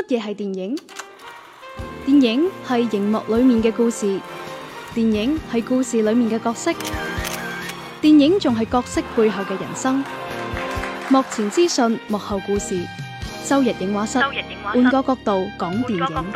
乜嘢係電影？電影係熒幕裏面嘅故事，電影係故事裏面嘅角色，電影仲係角色背後嘅人生。幕前資訊，幕後故事。周日映畫室，換個角度講電影。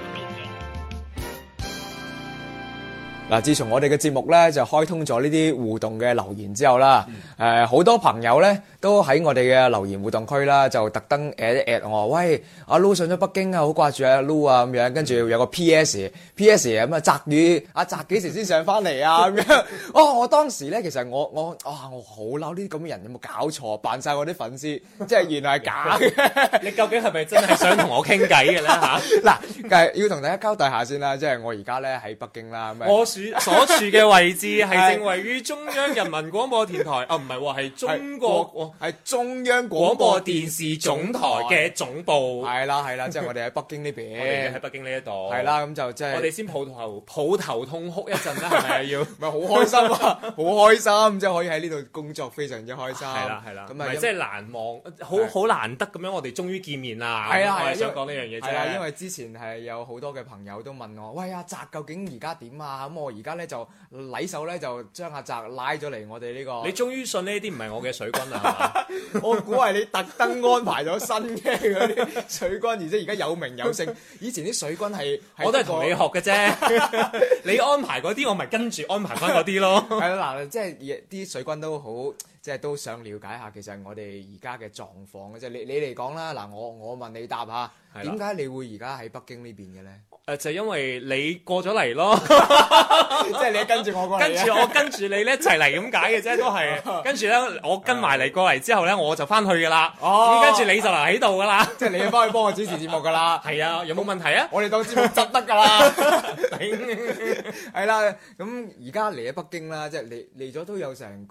嗱，自從我哋嘅節目咧就開通咗呢啲互動嘅留言之後啦，好多朋友咧都喺我哋嘅留言互動區啦，就特登 at 我，喂，阿 Lu 上咗北京啊，好掛住阿 Lu 啊咁樣，跟住有個 PS 咁啊，澤宇阿澤幾時先上翻嚟啊咁樣。哦，我當時咧其實我好嬲呢啲咁嘅人，有冇搞錯？扮晒我啲粉絲，即係原來係假嘅。 你究竟係咪真係想同我傾偈嘅咧嚇？ 嗱，但係要同大家交代下先啦，即係我而家咧喺北京啦，咁我所處嘅位置係正位於中央人民廣播電台，唔係喎，係中央廣播電視總台嘅總部。 係啦，即係我哋喺北京呢邊。 我哋喺北京呢一度。係啦，咁就即係我哋先抱頭痛哭一陣啦，係咪啊？要咪好開心啊！好開心，即係可以喺呢度工作，非常之開心。 係啦， 咁啊， 即係難忘，好難得咁樣，我哋終於見面啦。 係啦， 我係想講呢樣嘢啫。 係啦，因為之前係有好多嘅朋友都問我，喂，阿澤究竟而家點啊？咁我而家咧就禮手咧就將阿澤拉咗嚟我哋呢個。 你終於信呢啲唔係我嘅水軍啦，係嘛？ 我估係你特登安排咗新嘅嗰啲水軍，而且而家有名有姓。以前啲水軍係我都係同你學嘅啫。你安排嗰啲，我咪跟住安排翻嗰啲咯。 係啦，嗱，即係啲水軍都好，即係都想了解下其實我哋而家嘅狀況嘅啫。你嚟講啦，嗱，我問你答下，點解你會而家喺北京呢邊嘅咧？ 就因為你過咗嚟咯， 即係你跟住我過嚟， 跟住我跟住你咧一齊嚟咁解嘅啫，都係。跟住咧，我跟埋嚟過嚟之後咧，我就翻去噶啦。哦，跟住你就留喺度噶啦， 即係你要翻去幫我主持節目噶啦。 係啊，有冇問題啊？ 我哋當節目執得噶啦。係啦，咁而家嚟咗北京啦，即係嚟咗都有成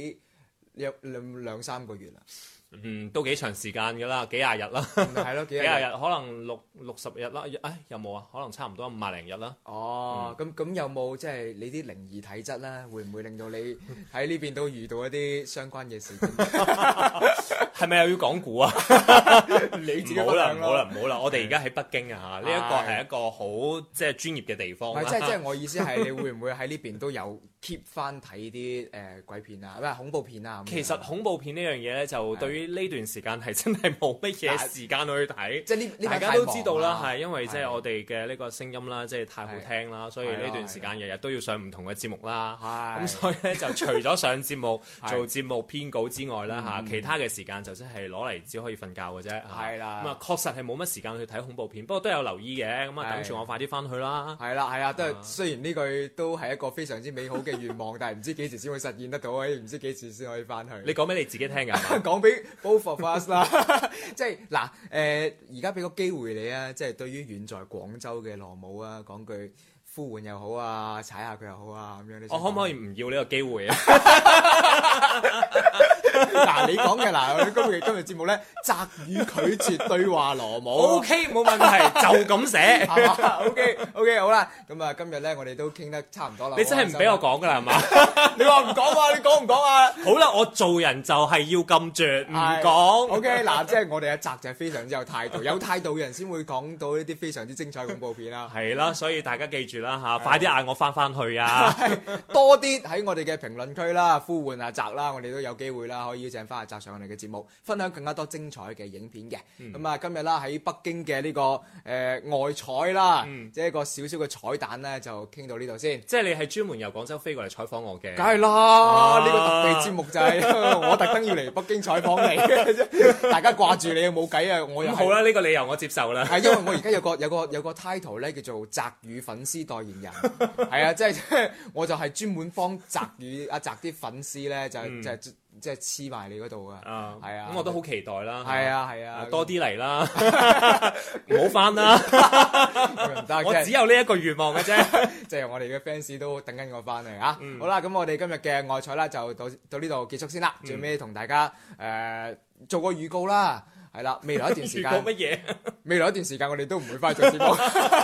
兩三個月啦。 都幾長時間㗎啦，幾廿日啦， 係咯，幾廿日， 可能60日啦，有冇啊？可能差唔多50零日啦。 哦，咁有冇即係你啲靈異體質咧？會唔會令到你喺呢邊都遇到一啲相關嘅事件？ 係咪又要講古啊？ 你自己唔好啦，我哋而家喺北京啊嚇，呢一個係一個好即係專業嘅地方。 即係我意思係，你會唔會喺呢邊都有 keep 翻睇啲鬼片啊，唔係恐怖片啊？ 其實恐怖片呢樣嘢咧，就對於呢段時間係真係冇乜嘢時間去睇。即係呢大家都知道啦，係因為即係我哋嘅呢個聲音啦，即係太好聽啦，所以呢段時間日日都要上唔同嘅節目啦。咁所以咧就除咗上節目做節目編稿之外啦嚇，其他嘅時間就真係攞嚟只可以瞓覺嘅啫。 係啦。咁啊確實係冇乜時間去睇恐怖片，不過都有留意嘅。咁啊等住我快啲翻去啦。 係啦，都係雖然呢句都係一個非常之美好嘅願望，但係唔知幾時先會實現得到，唔知幾時先可以翻去。 你講俾你自己聽㗎， 講俾 both of us 啦。即係嗱，而家俾個機會你啊，即係對於遠在廣州嘅羅姆啊，講句呼喚又好啊，踩下佢又好啊，咁樣。 我可唔可以唔要呢個機會啊？ 嗱，你講嘅嗱，我哋今日節目咧，澤宇拒絕對話羅姆。 OK， 冇問題，就咁寫。 OK， 好啦，咁啊，今日咧我哋都傾得差唔多啦。 你真係唔俾我講㗎啦，係嘛？ 你話唔講啊？你講唔講啊？ 好啦，我做人就係要咁絕，唔講。 OK， 嗱，即係我哋阿澤就係非常之有態度，有態度嘅人先會講到呢啲非常之精彩恐怖片啦。 係啦，所以大家記住啦嚇，快啲嗌我翻去啊！ 多啲喺我哋嘅評論區啦，呼喚阿澤啦，我哋都有機會啦，可以邀請翻阿澤上我哋嘅節目，分享更加多精彩嘅影片嘅。咁啊，今日啦喺北京嘅呢個外採啦，即係一個少少嘅彩蛋咧，就傾到呢度先。 即係你係專門由廣州飛過嚟採訪我嘅？ 梗係啦，呢個特備節目就係我特登要嚟北京採訪你嘅啫。大家掛住你冇計啊！我又好啦，呢個理由我接受啦。 係因為我而家有個 title 咧，叫做澤宇粉絲代言人。係啊，即係我就係專門幫澤宇阿澤啲粉絲咧，即係黐埋你嗰度啊！係啊， 咁我都好期待啦。 係啊， 多啲嚟啦，唔好翻啦。我只有呢一個願望嘅啫， 即係我哋嘅 fans 都等緊我翻嚟啊！好啦，咁我哋今日嘅外採啦，就到呢度結束先啦。最尾同大家做個預告啦，係啦，未來一段時間預告乜嘢？ 未來一段時間我哋都唔會翻去做節目。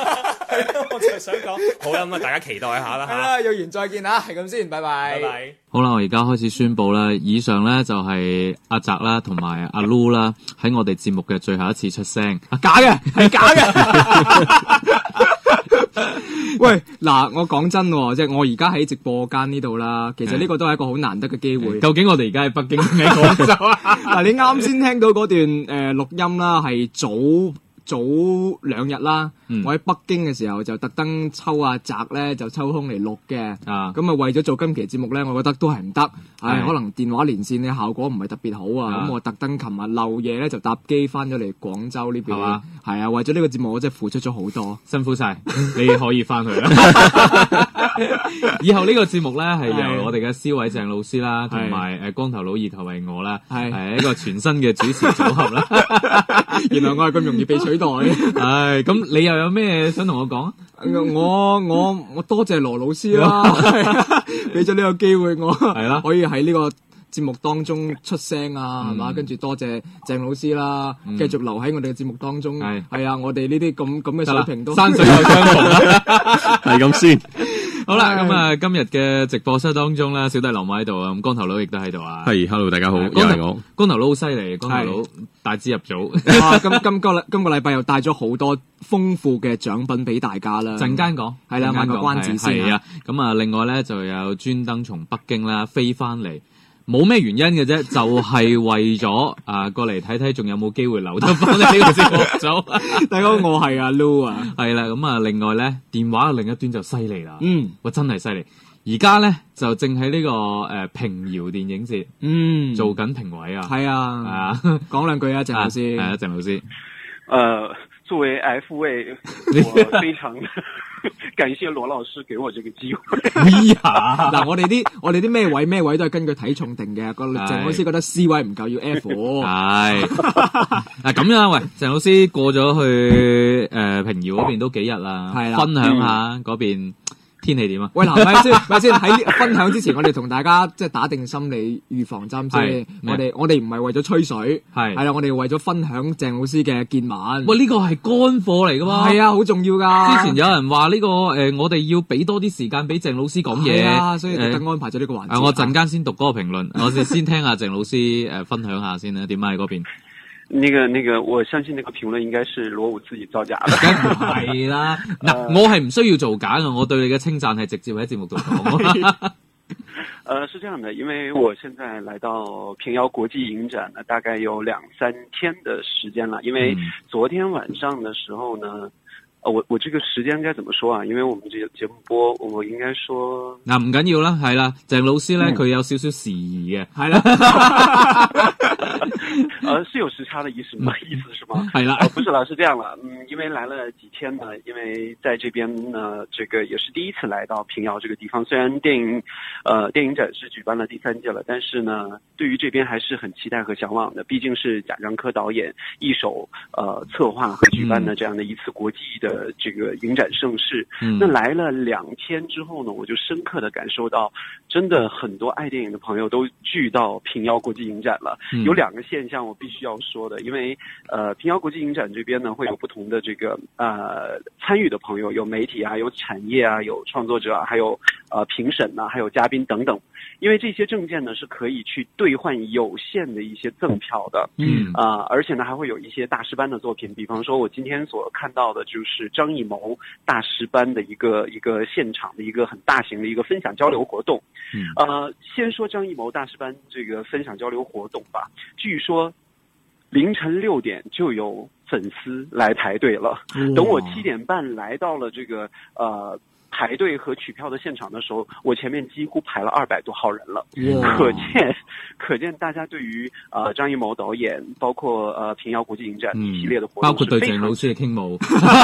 我就係想講，好啦，咁啊，大家期待一下啦。 係啦，有緣再見啊，係咁先，拜拜。 拜拜。 好啦，我而家開始宣佈啦，以上咧就係阿澤啦，同埋阿 Lu 啦，喺我哋節目嘅最後一次出聲。假嘅，係假嘅。 喂，嗱，我講真喎，即係我而家喺直播間呢度啦，其實呢個都係一個好難得嘅機會。 究竟我哋而家喺北京定喺廣州啊？ 嗱，你啱先聽到嗰段錄音啦，係早2日啦，我喺北京嘅時候就特登抽阿澤咧，就抽空嚟錄嘅。咁啊為咗做今期節目咧，我覺得都係唔得，可能電話連線嘅效果唔係特別好啊。咁我特登琴日漏夜咧就搭機翻咗嚟廣州呢邊，係啊，為咗呢個節目我真係付出咗好多， 辛苦晒，你可以翻去啦。以後呢個節目咧係由我哋嘅思偉鄭老師啦，同埋光頭佬二頭為我啦，係一個全新嘅主持組合啦。 原來我係咁容易被取代。 唉，咁你又有咩想同我講？ 我多謝羅老師啦，俾咗呢個機會我，係啦，可以喺呢個節目當中出聲啊，係嘛？跟住多謝鄭老師啦，繼續留喺我哋嘅節目當中。係啊，我哋呢啲咁嘅水平都山水有相逢啦， 係咁先。 好啦，咁啊，今日嘅直播室當中咧，小弟羅馬喺度啊，咁光頭佬亦都喺度啊。 係 ，hello， 大家好，又係我。 光頭佬好犀利，光頭佬大資入組。 今個禮拜又帶咗好多豐富嘅獎品俾大家啦。 陣間講， 係啦，賣個關子先。 係啊，咁啊，另外咧就有專登從北京啦飛翻嚟。冇咩原因嘅啫，就係為咗過嚟睇睇，仲有冇機會留得翻呢個節目組。 大哥，我係阿 Lu 啊， 係啦，咁啊，另外咧，電話嘅另一端就犀利啦，哇，真係犀利！而家咧就正喺呢個平遙電影節，做緊評委啊， 係啊，講兩句啊，鄭老師， 係啊，鄭老師， 作為 F 位，我非常感謝羅老師給我這個機會。 哎呀，嗱，我哋啲咩位都係根據體重定嘅。個鄭老師覺得 C 位唔夠，要 F。係嗱咁樣，喂，鄭老師過咗去平遙嗰邊都幾日啦，係啦，分享下嗰邊天氣點啊？ 喂，嗱，咪先喺分享之前，我哋同大家即係打定心理預防針先。我哋唔係為咗吹水，係啦，我哋為咗分享鄭老師嘅見聞。 喂，呢個係乾貨嚟噶嘛？ 係啊，好重要噶。 之前有人話呢個我哋要俾多啲時間俾鄭老師講嘢， 啊，所以特登安排咗呢個環節。 我陣間先讀嗰個評論，我哋先聽下鄭老師分享下先啦，點解喺嗰邊？ 那個，我相信那個評論應該是羅武自己造假的。 係啦，嗱，我係唔需要造假嘅，我對你嘅稱讚係直接喺節目度講。 是這樣的，因為我現在來到平遙國際影展呢，大概有2-3天的時間了。因為昨天晚上的時候呢，我這個時間該怎麼說啊？因為我們這個節目播，我應該說嗱，唔緊要啦，係啦，鄭老師咧佢有少少時宜嘅，係啦。 是有時差的意思嗎？意思是嗎？ 係啦， 不是啦，是這樣了，因為來了幾天呢，因為在這邊呢，這個也是第一次來到平遙這個地方。雖然電影展是舉辦了第3屆了，但是呢，對於這邊還是很期待和向往的。畢竟是賈樟柯導演一手策劃和舉辦的這樣的一次國際的這個影展盛事。那來了2天之後呢，我就深刻的感受到，真的很多愛電影的朋友都聚到平遙國際影展了。有2個現象我必須要說的，因為平遙國際影展這邊呢會有不同的這個參與的朋友，有媒體啊，有產業啊，有創作者啊，還有評審啊，還有嘉賓等等。因為這些證件呢是可以去兌換有限的一些贈票的，而且呢還會有一些大師班的作品，比方說我今天所看到的就是張藝謀大師班的一個現場的一個很大型的一個分享交流活動。先說張藝謀大師班這個分享交流活動吧，據說凌晨6點就有粉絲來排隊了，等我7點半來到了這個排隊和取票的現場的時候，我前面幾乎排了200多號人了，可見大家對於張藝謀導演，包括平遙國際影展一系列的活動， 包括對鄭老師嘅傾慕，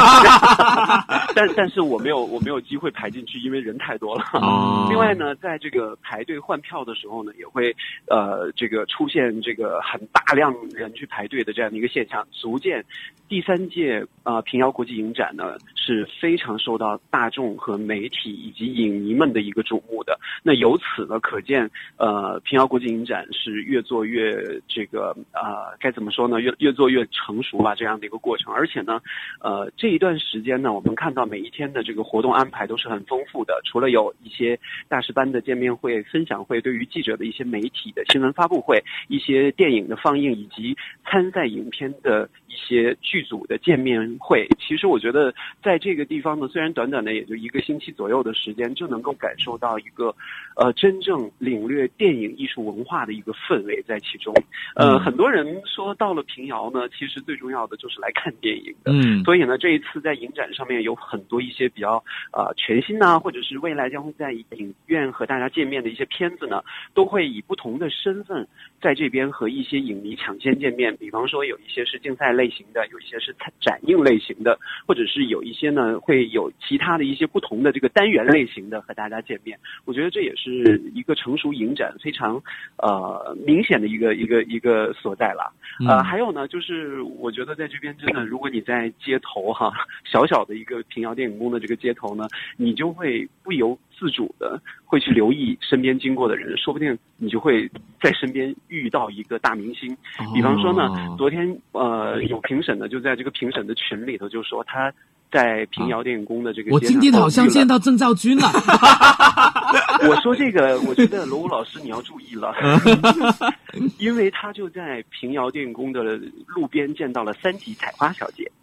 但是我沒有機會排進去，因為人太多了。另外呢，在這個排隊換票的時候呢，也會這個出現這個很大量人去排隊的這樣的一個現象，足見第3屆平遙國際影展呢是非常受到大众和媒体以及影迷们的一个瞩目的。那由此呢，可见平遥国际影展是越做越这个该怎么说呢，越做越成熟吧，这样的一个过程。而且呢这一段时间呢，我们看到每一天的这个活动安排都是很丰富的，除了有一些大师班的见面会、分享会，对于记者的一些媒体的新闻发布会，一些电影的放映，以及参赛影片的一些剧组的见面会。其实我觉得在这个地方呢，虽然短短的也就1个星期左右的时间，就能够感受到一个真正领略电影艺术文化的一个氛围在其中。很多人说到了平遥呢，其实最重要的就是来看电影的。所以呢，这一次在影展上面有很多一些比较全新啊，或者是未来将会在影院和大家见面的一些片子呢，都会以不同的身份在这边和一些影迷抢先见面。比方说有一些是竞赛类型的，有一些是展映类型的，或者是有一些呢会有其他的一些不同的这个单元类型的和大家见面。我觉得这也是一个成熟影展非常明显的一个所在了。还有呢，就是我觉得在这边真的，如果你在街头小小的一个平遥电影宫的这个街头呢，你就会不由自主的会去留意身边经过的人，说不定你就会在身边遇到一个大明星。比方说呢，昨天有评审呢，就在这个评审的群里头就说他在平遥电影宫的这个街上， 我今天好像见到郑兆军了。 我说这个，我觉得罗武老师你要注意了，因为他就在平遥电影宫的路边見到了三級采花小姐。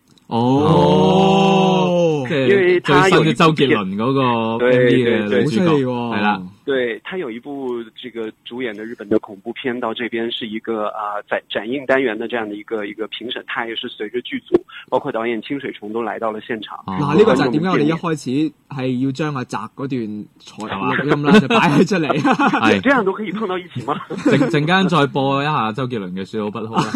因為他有周杰倫嗰個 MV 嘅女主角，係啦。对，他有一部这个主演的日本的恐怖片，到这边是一个展映单元的这样的一个评审，他也是随着劇組，包括導演清水崇都來到了現場。 嗱，呢個就係點解我哋一開始係要將阿澤嗰段錄音啦，就擺咗出嚟。 係，這樣都可以碰到一起嗎？ 陣間再播一下周杰倫嘅《說好不好》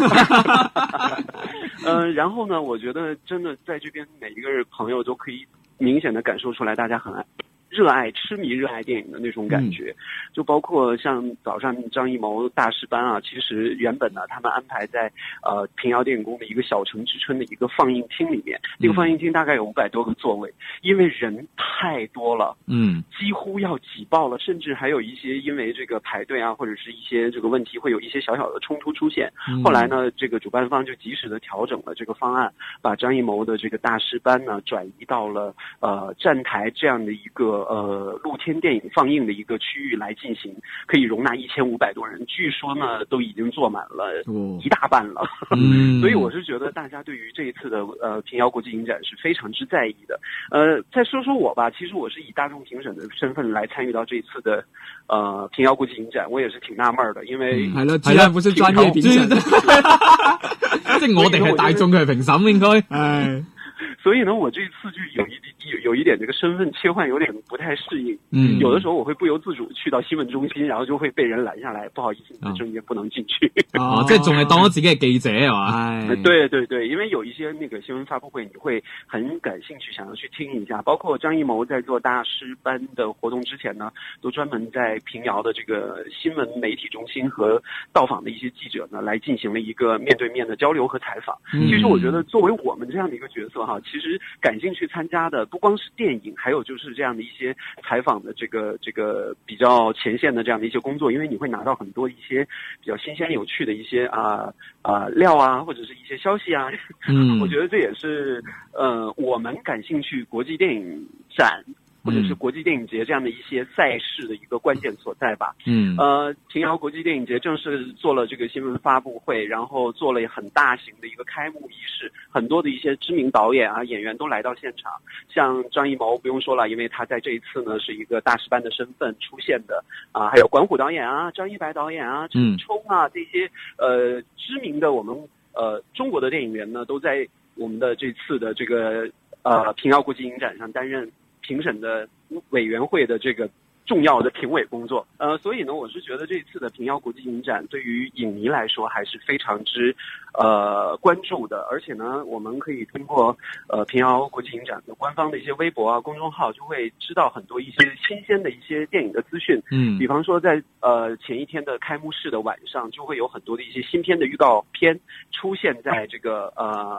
啦。然後呢，我覺得真的在這邊每一個朋友都可以明顯的感受出來，大家很熱愛、痴迷熱愛電影的那種感覺，就包括像早上張藝謀大師班啊，其實原本呢，他們安排在平遙電影宮的一個小城之春的一個放映廳裡面，那個放映廳大概有500多個座位，因為人太多了，幾乎要擠爆了，甚至還有一些因為這個排隊啊，或者是一些這個問題，會有一些小小的衝突出現。後來呢，這個主辦方就及時的調整了這個方案，把張藝謀的這個大師班呢轉移到了站台這樣的一個露天電影放映的一個區域來進行，可以容納1500多人，據說呢都已經坐滿了一大半了。所以我是覺得大家對於這一次的平遙國際影展是非常之在意的。再說說我吧，其實我是以大眾評審的身份來參與到這一次的平遙國際影展，我也是挺納悶的，因為係啦，居然不是專業評審，即係我哋係大眾嘅評審應該。 所以呢，我這一次就有一點這個身份切換有點不太適應。有的時候我會不由自主去到新聞中心，然後就會被人攔下來，不好意思，你的證件不能進去。 即係仲係當咗自己係記者係嘛？ 對對對，因為有一些那個新聞發布會，你會很感興趣，想要去聽一下。包括張藝謀在做大師班的活動之前呢，都專門在平遙的這個新聞媒體中心和到訪的一些記者呢，來進行了一個面對面的交流和採訪。其實我覺得作為我們這樣的一個角色哈，其實感興趣參加的不光是電影，還有就是這樣的一些採訪的這個比較前線的這樣的一些工作，因為你會拿到很多一些比較新鮮有趣的一些料啊，或者是一些消息啊。我覺得這也是我們感興趣國際電影展或者是國際電影節這樣的一些賽事的一個關鍵所在吧。平遙國際電影節正式做了這個新聞發布會，然後做了很大型的一個開幕儀式，很多的一些知名導演啊、演員都來到現場。像張藝謀不用說了，因為他在這一次呢是一個大師班的身份出現的啊，還有管虎導演啊、張一白導演啊、陳沖啊這些知名的我們中國的電影人呢，都在我們的這次的這個平遙國際影展上擔任評審的委員會的這個重要的評委工作。所以呢，我是覺得這次的平遙國際影展對於影迷來說還是非常之關注的。而且呢，我們可以通過平遙國際影展的官方的一些微博啊、公眾號，就會知道很多一些新鮮的一些電影的資訊。比方說在前一天的開幕式的晚上，就會有很多的一些新片的預告片出現在這個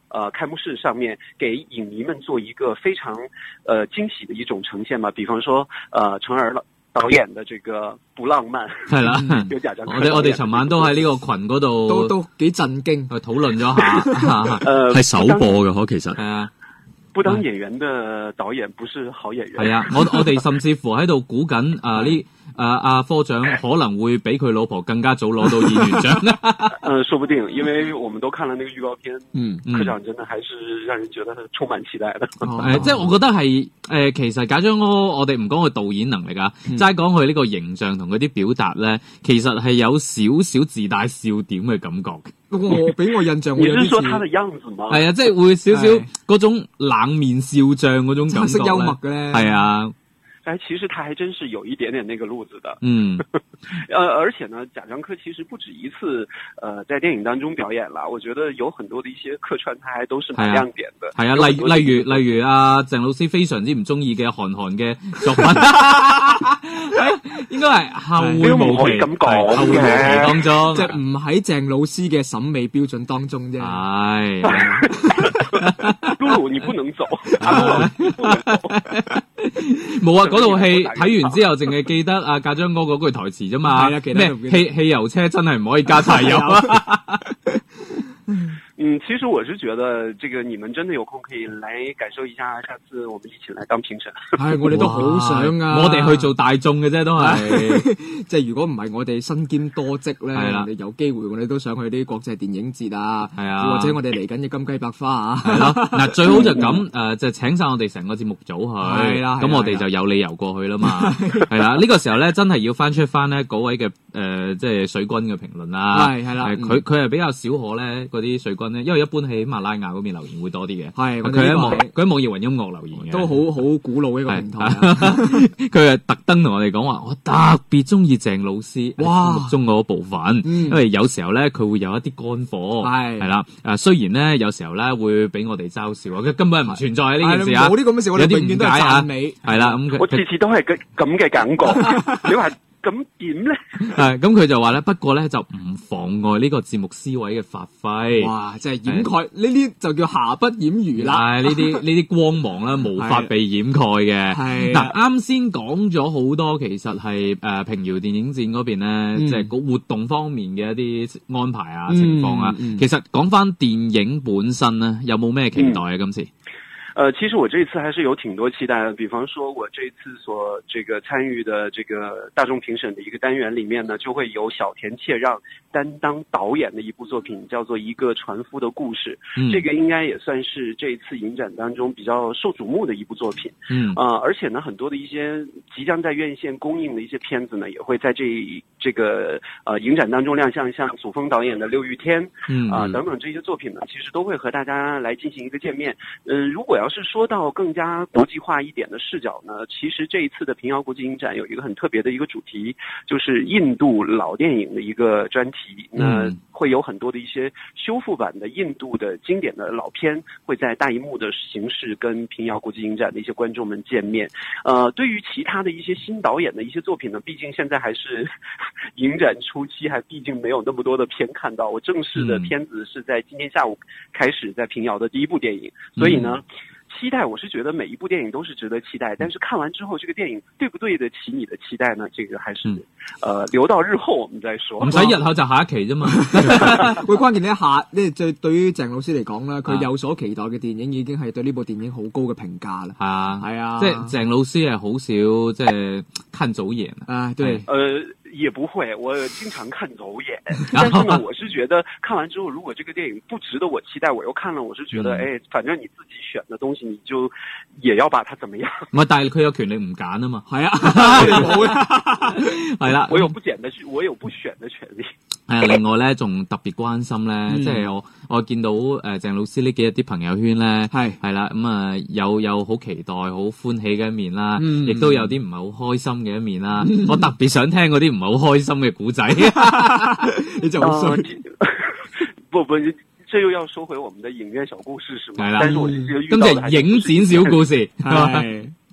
开幕式上面给影迷們做一個非常驚喜的一種呈現嘛，比方說陳兒導演的這個不浪漫係啦， 有賈樟柯我哋尋晚都喺呢個群嗰度都幾震驚去討論咗下， 係首播嘅其實係啊。 不當演員的導演不是好演員。 係啊，我哋甚至乎喺度估緊科長可能會比佢老婆更加早攞到演員獎。 說不定，因為我們都看了那個預告片，科長真的還是讓人覺得充滿期待的。 即係我覺得係其實賈樟柯我哋唔講佢導演能力啊，齋講佢呢個形象同佢啲表達咧，其實係有少少自帶笑點嘅感覺。 我俾我印象， 你是說他的樣子嗎？ 係啊，即係會少少嗰種冷面笑匠嗰種感覺， 黑色幽默嘅咧。 係啊。 其實他還真是有一點點那個路子的。而且呢，賈樟柯其實不止一次，在電影當中表演啦。我覺得有很多的一些客串，他還都是蠻亮點的。 係啊，例如阿鄭老師非常之唔中意嘅韓嘅作品，應該係後會無期咁講後會無期當中， 即係唔喺鄭老師嘅審美標準當中啫。 係， 露露你不能走。 冇啊！嗰套戲睇完之後，淨係記得阿賈樟柯嗰句台詞啫嘛。咩汽油車真係唔可以加柴油啊！ 其實我是覺得，這個你們真的有空可以來感受一下，下次我們一起來當評審。 係，我哋都好想啊！ 我哋去做大眾嘅啫，都係。 即係如果唔係我哋身兼多職咧，我哋有機會我哋都想去啲國際電影節啊，或者我哋嚟緊嘅金雞百花啊。 係咯，嗱最好就咁就請晒我哋成個節目組去，咁我哋就有理由過去啦嘛。係啦，呢個時候咧真係要翻出翻咧嗰位嘅即係水軍嘅評論啦。係啦，佢係比較少可咧嗰啲水軍。因為一般喺喜馬拉雅嗰邊留言會多啲嘅，係佢喺網易雲音樂留言嘅， 都好古老一個平台。 佢係特登同我哋講話，我特別中意鄭老師節目中嗰部分，因為有時候咧佢會有一啲乾貨，係啦，雖然咧有時候咧會俾我哋嘲笑，佢根本係唔存在呢件事啊， 冇啲咁嘅事，我哋永遠都係讚美， 係啦，咁我次次都係咁嘅感覺，你話。咁點咧？ 咁佢就話咧，不過咧就唔妨礙呢個節目思維嘅發揮。 哇！即係掩蓋呢啲就叫瑕不掩瑜啦。 呢啲光芒咧無法被掩蓋嘅。係嗱，啱先講咗好多，其實係平遙電影節嗰邊咧，即係個活動方面嘅一啲安排啊、情況啊。其實講翻電影本身咧，有冇咩期待啊？今次？ 其實我這一次還是有挺多期待的，比方說我這一次所這個參與的這個大眾評審的一個單元裡面呢，就會有小田切讓擔當導演的一部作品，叫做《一個船夫的故事》。這個應該也算是這一次影展當中比較受矚目的一部作品。而且呢，很多的一些即將在院線公映的一些片子呢，也會在這個影展當中亮相，像祖峰導演的《六月天》等等這些作品呢，其實都會和大家來進行一個見面。如果要是說到更加國際化一點的視角呢，其實這一次的平遙國際影展有一個很特別的一個主題，就是印度老電影的一個專題。那會有很多的一些修復版的印度的經典的老片，會在大熒幕的形式跟平遙國際影展的一些觀眾們見面。對於其他的一些新導演的一些作品呢，畢竟現在還是影展初期，還畢竟沒有那麼多的片看到。我正式的片子是在今天下午開始在平遙的第一部電影，所以呢，期待我是覺得每一部電影都是值得期待，但是看完之後這個電影對不對得起你的期待呢？這個還是留到日後我們再說。 唔使日後就下一期啫嘛。 會關鍵呢一下，對於鄭老師嚟講咧，佢有所期待嘅電影已經係對呢部電影好高嘅評價啦。係啊， 即係鄭老師係好少即係看走眼啊。對， 也不會，我經常看走眼。但是呢，我是覺得看完之後，如果這個電影不值得我期待，我又看了，我是覺得，反正你自己選的東西，你就也要把它怎麼樣？ 唔係，但係佢有權利唔揀啊嘛。係啊，係啦， 我有不選的權利。 係啊，另外咧，仲特別關心咧，即係我見到鄭老師呢幾日啲朋友圈咧，係啦，咁啊有好期待、好歡喜嘅一面啦，亦都有啲唔係好開心嘅一面啦。我特別想聽嗰啲唔係好開心嘅古仔，你就好衰。 不，這又要說回我們的影院小故事是嗎？ 係啦， 但是我其實遇到咁就影展小故事。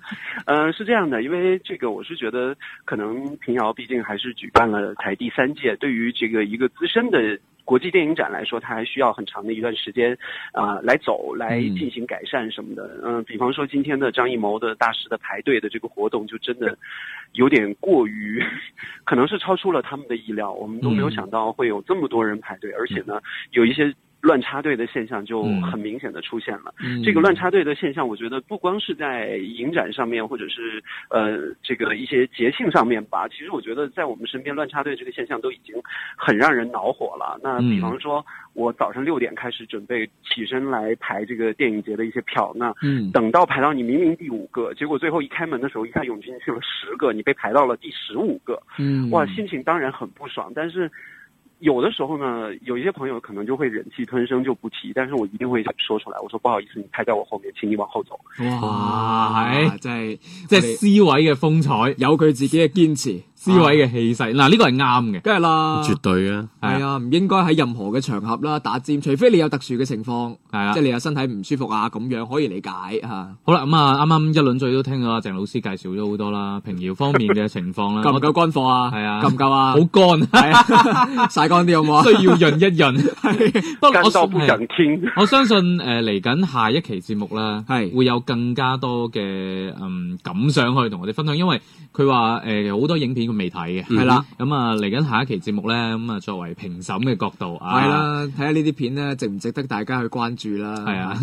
是这样的，因为这个我是觉得，可能平遥毕竟还是举办了才第3届，对于这个一个资深的国际电影展来说，它还需要很长的一段时间，来走，来进行改善什么的。比方说今天的张艺谋的大师的排队的这个活动，就真的有点过于，可能是超出了他们的意料，我们都没有想到会有这么多人排队，而且呢，有一些乱插队的现象就很明显的出现了。这个乱插队的现象，我觉得不光是在影展上面，或者是这个一些节庆上面吧，其实我觉得在我们身边乱插队这个现象都已经很让人恼火了。那比方说，我早上6点开始准备起身来排这个电影节的一些票，那等到排到你明明第5个，结果最后一开门的时候，一下涌进去了10个，你被排到了第15个，哇，心情当然很不爽，但是有的时候呢，有一些朋友可能就会忍气吞声就不提，但是我一定会說出來。我說不好意思，你排在我後面，請你往後走。 哇，即係 C 位嘅風采，有佢自己嘅堅持。C 位嘅氣勢，嗱呢個係啱嘅， 梗係啦， 絕對啊， 係啊，唔應該喺任何嘅場合啦打尖，除非你有特殊嘅情況，係啦，即係你有身體唔舒服啊咁樣可以理解嚇。 好啦，咁啊啱啱一輪嘴都聽咗啦，鄭老師介紹咗好多啦，平遙方面嘅情況啦， 夠唔夠乾貨啊？ 係啊， 夠唔夠啊？ 好乾，係啊，曬乾啲好唔好啊？ 需要潤一潤。 不過我到不想聽。 我相信嚟緊下一期節目啦，係會有更加多嘅感想可以同我哋分享，因為佢話好多影片佢未睇嘅，係啦。咁啊，嚟緊下一期節目咧，咁啊作為評審嘅角度， 係啦，睇下呢啲片咧值唔值得大家去關注啦。 係啊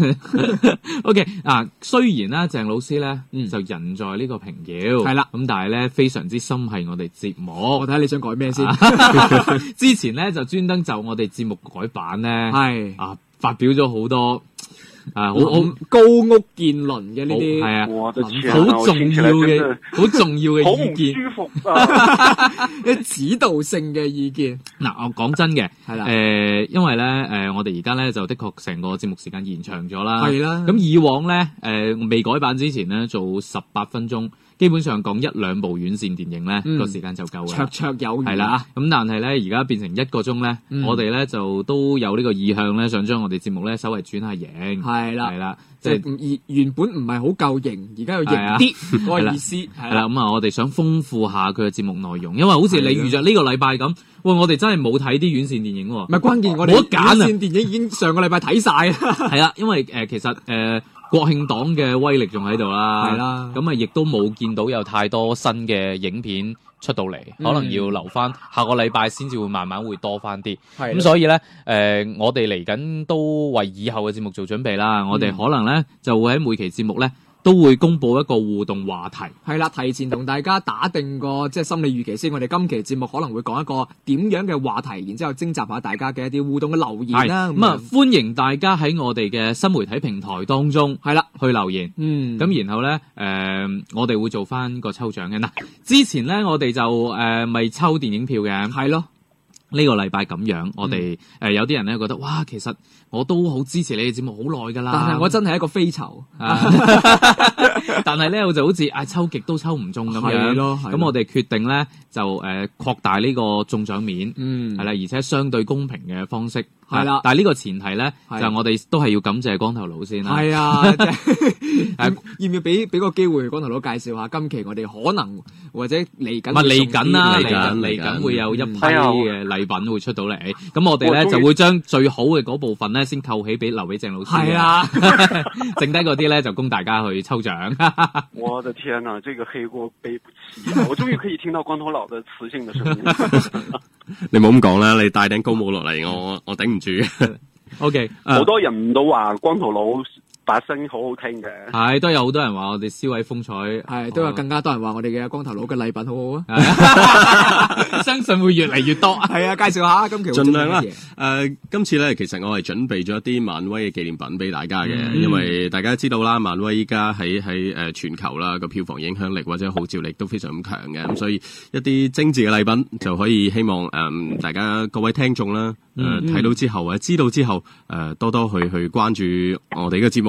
，OK 啊，雖然咧鄭老師咧就人在呢個平遙，係啦，咁但係咧非常之心係我哋節目。 我睇下你想改咩先？ 之前咧就專登就我哋節目改版咧，係啊發表咗好多。好高屋建矗嘅呢啲， 係啊， 好重要嘅，好重要嘅意見， 好唔舒服啊！ 啲指導性嘅意見。 嗱，我講真嘅， 係啦， 因為咧，我哋而家咧就的確成個節目時間延長咗啦， 係啦。 咁以往咧，未改版之前咧，做18分鐘。基本上講1-2部院線電影咧，個時間就夠啦， 綽綽有餘係啦。咁但係咧，而家變成1個鐘咧，我哋咧就都有呢個意向咧，想將我哋節目咧稍微轉下型， 係啦， 係啦， 即係原本唔係好夠型，而家要型啲嗰個意思。係啦，咁啊，我哋想豐富下佢嘅節目內容，因為好似你預着呢個禮拜咁，喂，我哋真係冇睇啲院線電影喎。 唔係關鍵，我哋院線電影已經上個禮拜睇晒啦。 係啦，因為其實國慶檔嘅威力仲喺度啦， 係啦， 咁啊亦都冇見到有太多新嘅影片出到嚟，可能要留翻下個禮拜先至會慢慢會多翻啲。咁所以咧，我哋嚟緊都為以後嘅節目做準備啦。我哋可能咧就會喺每期節目咧都會公佈一個互動話題。 係啦，提前同大家打定個即係心理預期先。我哋今期節目可能會講一個點樣嘅話題，然之後徵集下大家嘅一啲互動嘅留言啦。 咁啊，歡迎大家喺我哋嘅新媒體平台當中係啦去留言。咁然後咧我哋會做翻個抽獎嘅。嗱，之前咧我哋就咪抽電影票嘅。 係咯。 呢個禮拜咁樣，我哋有啲人咧覺得，哇，其實我都好支持你嘅節目好耐㗎啦。 但係我真係一個飛籌， 但係咧我就好似抽極都抽唔中咁樣。咁我哋決定咧就擴大呢個中獎面，係啦，而且相對公平嘅方式。係啦，但係呢個前提咧就係我哋都係要感謝光頭佬先啦。 係啊，要唔要俾個機會光頭佬介紹下今期我哋可能或者嚟緊啦，嚟緊會有一批嘅禮品會出到嚟。咁我哋咧就會將最好嘅嗰部分咧先扣起留俾鄭老師。 係啊， 剩低嗰啲咧就供大家去抽獎。 我的天哪，這個黑鍋背不起！我終於可以聽到光頭佬的磁性的聲音。 你冇咁講啦，你戴頂高帽落嚟，我頂唔住。 OK， 好多人都話光頭佬把聲好好聽嘅， 係都有好多人話我哋燒位風采， 係都有更加多人話我哋嘅光頭佬嘅禮品好好啊！相信會越嚟越多。 係啊，介紹下今期盡量啦。今次咧其實我係準備咗一啲漫威嘅紀念品俾大家嘅，因為大家知道啦，漫威依家喺全球啦個票房影響力或者號召力都非常咁強嘅，咁所以一啲精緻嘅禮品就可以希望大家各位聽眾啦睇到之後或者知道之後多多去關注我哋嘅節目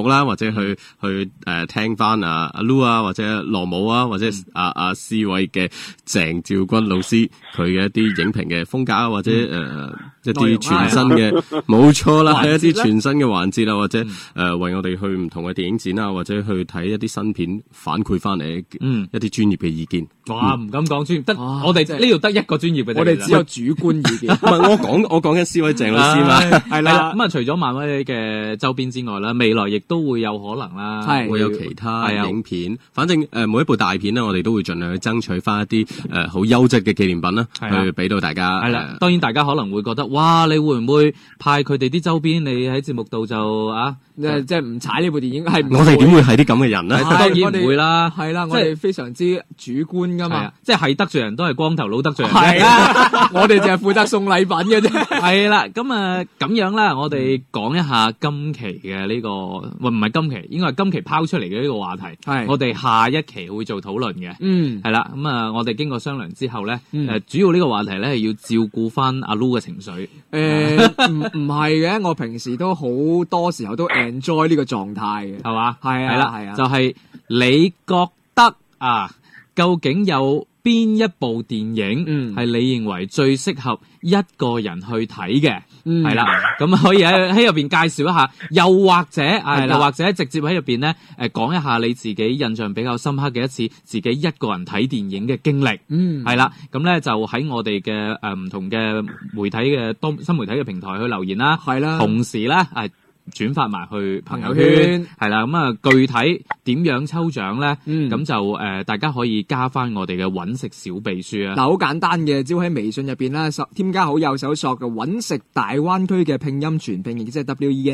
目啦，或者去聽翻阿 Lu 啊，或者羅姆啊，或者阿思偉嘅鄭兆君老師佢嘅一啲影評嘅風格啊，或者一啲全新嘅冇錯啦，係一啲全新嘅環節啊，或者為我哋去唔同嘅電影展啊，或者去睇一啲新片反饋翻嚟一啲專業嘅意見。 哇，唔敢講專業，得我哋呢度得一個專業嘅， 我哋只有主觀意見。 唔係我講緊思偉鄭老師嘛， 係啦。咁啊，除咗漫威嘅周邊之外啦，未來亦都會有可能啦， 會有其他影片。反正每一部大片咧，我哋都會盡量去爭取翻一啲好優質嘅紀念品啦，去俾到大家。 係啦，當然大家可能會覺得，哇，你會唔會派佢哋啲周邊？你喺節目度就即係唔踩呢部電影？係我哋點會係啲咁嘅人咧？ 當然唔會啦。 係啦，我哋非常之主觀噶嘛。 即係得罪人都係光頭佬得罪人。 係啦，我哋就係負責送禮品嘅啫。 係啦，咁咁樣啦，我哋講一下今期嘅呢個，唔係今期，應該係今期拋出嚟嘅呢個話題。係我哋下一期會做討論嘅。係啦，咁我哋經過商量之後咧，主要呢個話題咧係要照顧翻阿 Lu 嘅情緒。 唔係嘅，我平時都好多時候都 enjoy 呢個狀態嘅， 係嘛？ 係啊， 就係你覺得究竟有邊一部電影係你認為最適合一個人去睇嘅？係啦，咁可以喺入邊介紹一下，又或者直接喺入邊咧講一下你自己印象比較深刻嘅一次自己一個人睇電影嘅經歷。係啦，咁咧就喺我哋嘅唔同嘅媒體嘅新媒體嘅平台去留言啦。係啦，同時咧轉發埋去朋友圈，係啦，咁具體點樣抽獎咧？咁就大家可以加翻我哋嘅揾食小秘書啊！ 嗱，好簡單嘅，只要喺微信入邊啦，添加好友搜索嘅揾食大灣區嘅拼音全拼，亦即係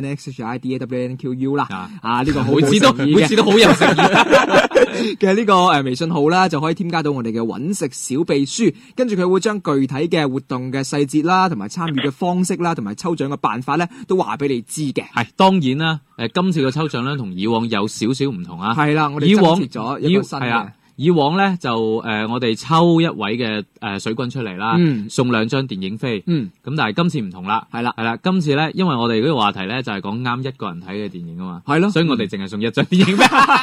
WENXHIDAWNQU 啦。呢個每次都好有誠意嘅呢個微信號啦，就可以添加到我哋嘅揾食小秘書，跟住佢會將具體嘅活動嘅細節啦，同埋參與嘅方式啦，同埋抽獎嘅辦法咧，都話俾你知嘅。 係當然啦，今次嘅抽獎咧同以往有少少唔同啊。 係啦，我哋增設咗一個新嘅。 以往咧就我哋抽一位嘅水軍出嚟啦，送2張電影飛。咁但係今次唔同啦，係啦，今次咧因為我哋嗰個話題咧就係講啱一個人睇嘅電影啊嘛，係咯，所以我哋淨係送1張電影飛。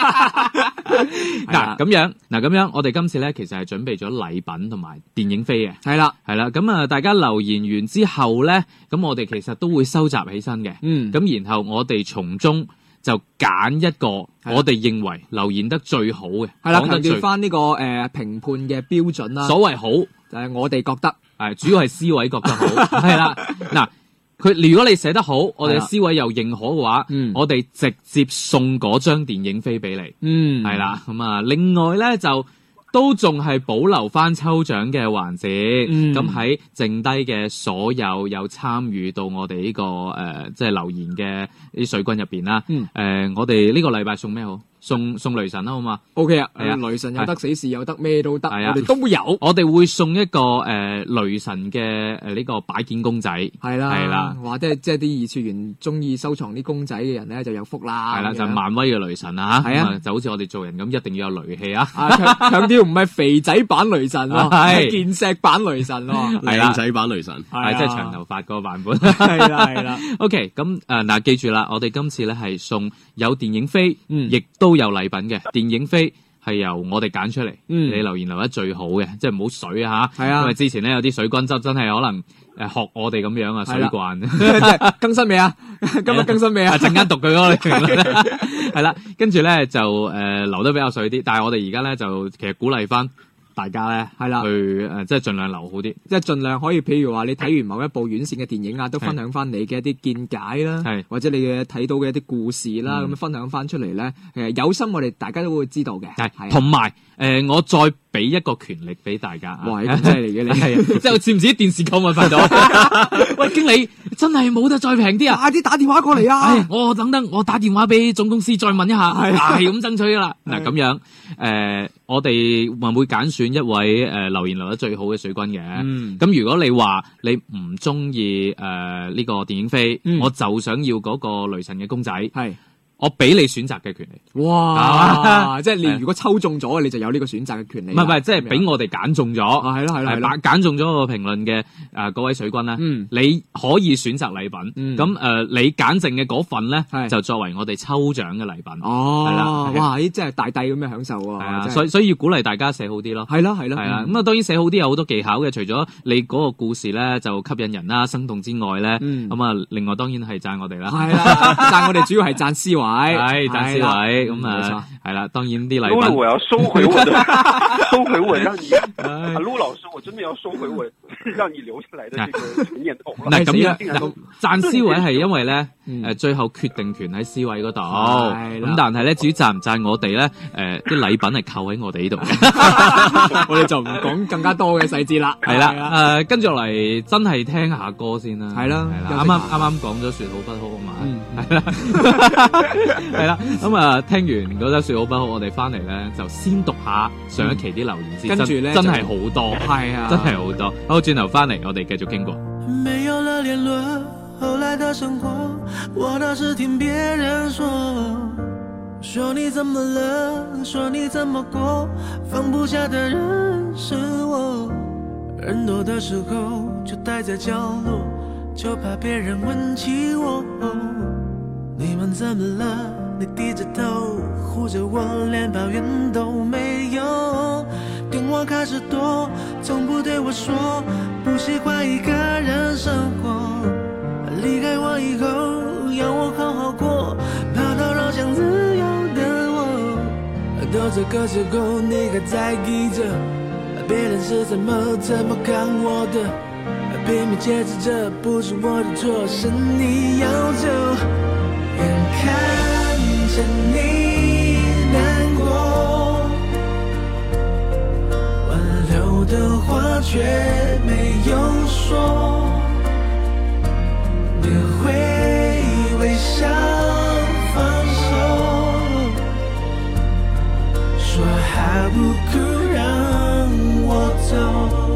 嗱咁樣，我哋今次咧其實係準備咗禮品同埋電影飛嘅。係啦，咁大家留言完之後咧，咁我哋其實都會收集起身嘅。咁然後我哋從中就揀一個我哋認為留言得最好嘅，係啦，強調翻呢個評判嘅標準啦。所謂好就係我哋覺得，主要係思偉覺得好，係啦。嗱，如果你寫得好，我哋嘅思偉又認可嘅話，我哋直接送嗰張電影飛俾你。係啦，咁另外咧就都仲係保留翻抽獎嘅環節。咁喺剩低嘅所有參與到我哋呢個即係留言嘅啲水軍入邊啦。我哋呢個禮拜送咩好？送雷神啦，好嘛 ？OK 啊，雷神有得死侍，有得咩都得，我哋都有。 我哋會送一個雷神嘅呢個擺件公仔，係啦， 或者即係啲二次元中意收藏啲公仔嘅人咧就有福啦。 係啦，就係漫威嘅雷神啊，係啊，就好似我哋做人咁，一定要有雷氣啊！ 強調唔係肥仔版雷神咯，係健碩版雷神咯， 靚仔版雷神， 係即係長頭髮嗰個版本。 係啦。 OK，咁嗱，記住啦，我哋今次咧係送有電影飛，亦都有禮品嘅。電影飛係由我哋揀出嚟，你留言留得最好嘅，即係唔好水啊吓。係啊，因為之前咧有啲水軍真係可能學我哋咁樣啊，水慣。即係更新未啊？今日更新未啊？ 陣間讀佢嗰個評論。係啦，跟住咧就留得比較水啲，但係我哋而家咧就其實鼓勵翻大家咧係啦，去即係盡量留好啲， 即係盡量可以，譬如話你睇完某一部院線嘅電影啊，都分享翻你嘅一啲見解啦，或者你嘅睇到嘅一啲故事啦，咁分享翻出嚟咧，有心我哋大家都會知道嘅。 係，同埋我再俾一個權力俾大家。 哇，咁犀利嘅你， 即係似唔似電視購物頻道？喂，經理真係冇得再平啲啊！ 快啲打電話過嚟啊！ 我等我打電話俾總公司再問一下，係咁爭取啦。嗱咁樣我哋會揀選一位留言留得最好嘅水軍嘅。咁如果你話你唔中意呢個電影飛，我就想要嗰個雷神嘅公仔，係我俾你選擇嘅權利。 哇！即係你如果抽中咗，你就有呢個選擇嘅權利。 唔係，即係俾我哋揀中咗。 係咯， 揀中咗個評論嘅嗰位水軍咧，你可以選擇禮品。咁你揀剩嘅嗰份咧，就作為我哋抽獎嘅禮品。 哦， 係啦， 哇！呢真係大帝咁嘅享受喎。 係啊，所以要鼓勵大家寫好啲咯。 係啦。 咁啊，當然寫好啲有好多技巧嘅，除咗你嗰個故事咧就吸引人啦、生動之外咧，咁啊，另外當然係讚我哋啦。 係啦，讚我哋主要係讚思維。 係讚思維，咁啊，係啦，當然啲禮品。 我要收回我的，收回我讓你，陸老師，我真的要收回我讓你留下來的這個念頭啦。 嗱咁樣，讚思維係因為咧，最後決定權喺思維嗰度。咁但係咧，至於讚唔讚我哋咧，啲禮品係扣喺我哋呢度嘅。 我哋就唔講更加多嘅細節啦。 係啦，跟住落嚟真係聽下歌先啦。 係啦， 啱啱講咗說好不好啊嘛。係啦。係啦，咁啊，聽完嗰首說好不好，我哋翻嚟咧就先讀下上一期啲留言先，跟住咧真係好多，係啊，真係好多。好，轉頭翻嚟，我哋繼續傾過。 沒有了聯絡，後來的生活，我倒是聽別人說你怎麼了，說你怎麼過，放不下的人是我。人多的時候就待在角落，就怕別人問起我。你們怎麼了？你低着頭護着我，連抱怨都沒有。電話開始多，從不對我說不習慣一個人生活。離開我以後要我好好過，跑到老想自由的我。到這個時候你還在意着別人是怎麼看我的，拼命解釋這不是我的錯，是你要走。眼看着你難過，挽留的話卻沒有說，你會微笑放手，說還不夠讓我走。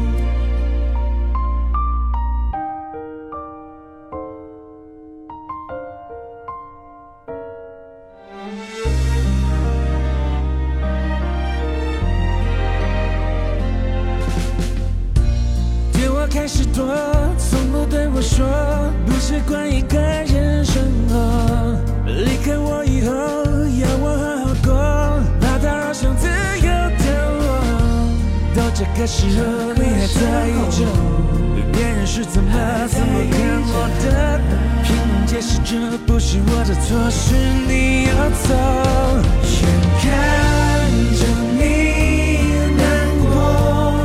開始多，從不對我說不習慣一個人生活。離開我以後要我好好過，怕打擾想自由的我。到這個時候你還在意着別人是怎麼看我的，拼命解釋這不是我的錯，是你要走。眼看着你難過，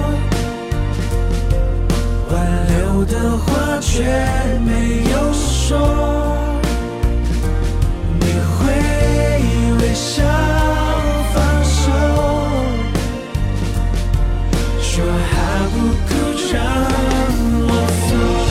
的話卻沒有說，你會微笑放手，說還不夠讓我走。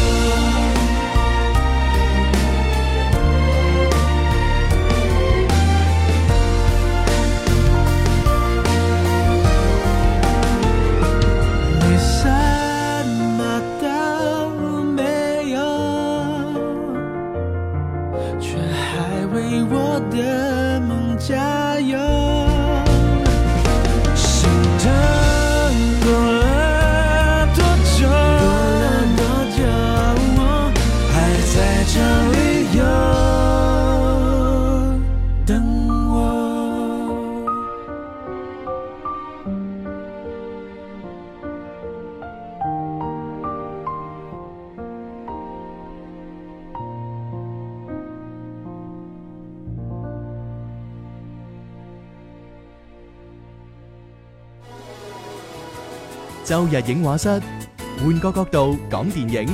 周日影畫室，換個角度講電影。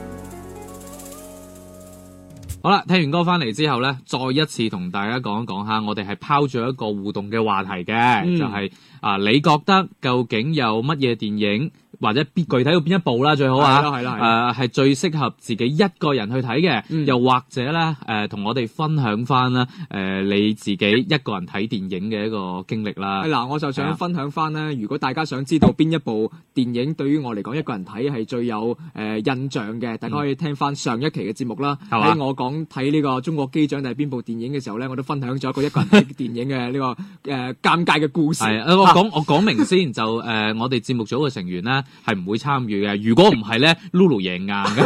好啦，聽完歌翻嚟之後咧，再一次同大家講一講下，我哋係拋咗一個互動嘅話題嘅，就係你覺得究竟有乜嘢電影或者具體到邊一部啦最好啊，係最適合自己一個人去睇嘅，又或者咧同我哋分享翻啦你自己一個人睇電影嘅一個經歷啦。 嗱，我就想分享翻咧，如果大家想知道邊一部電影對於我嚟講一個人睇係最有印象嘅，大家可以聽翻上一期嘅節目啦。喺我講睇呢個中國機長定係邊部電影嘅時候咧，我都分享咗一個人睇電影嘅呢個尷尬嘅故事。 我講明先，就我哋節目組嘅成員咧係唔會參與嘅。如果唔係咧，Lulu 贏硬嘅。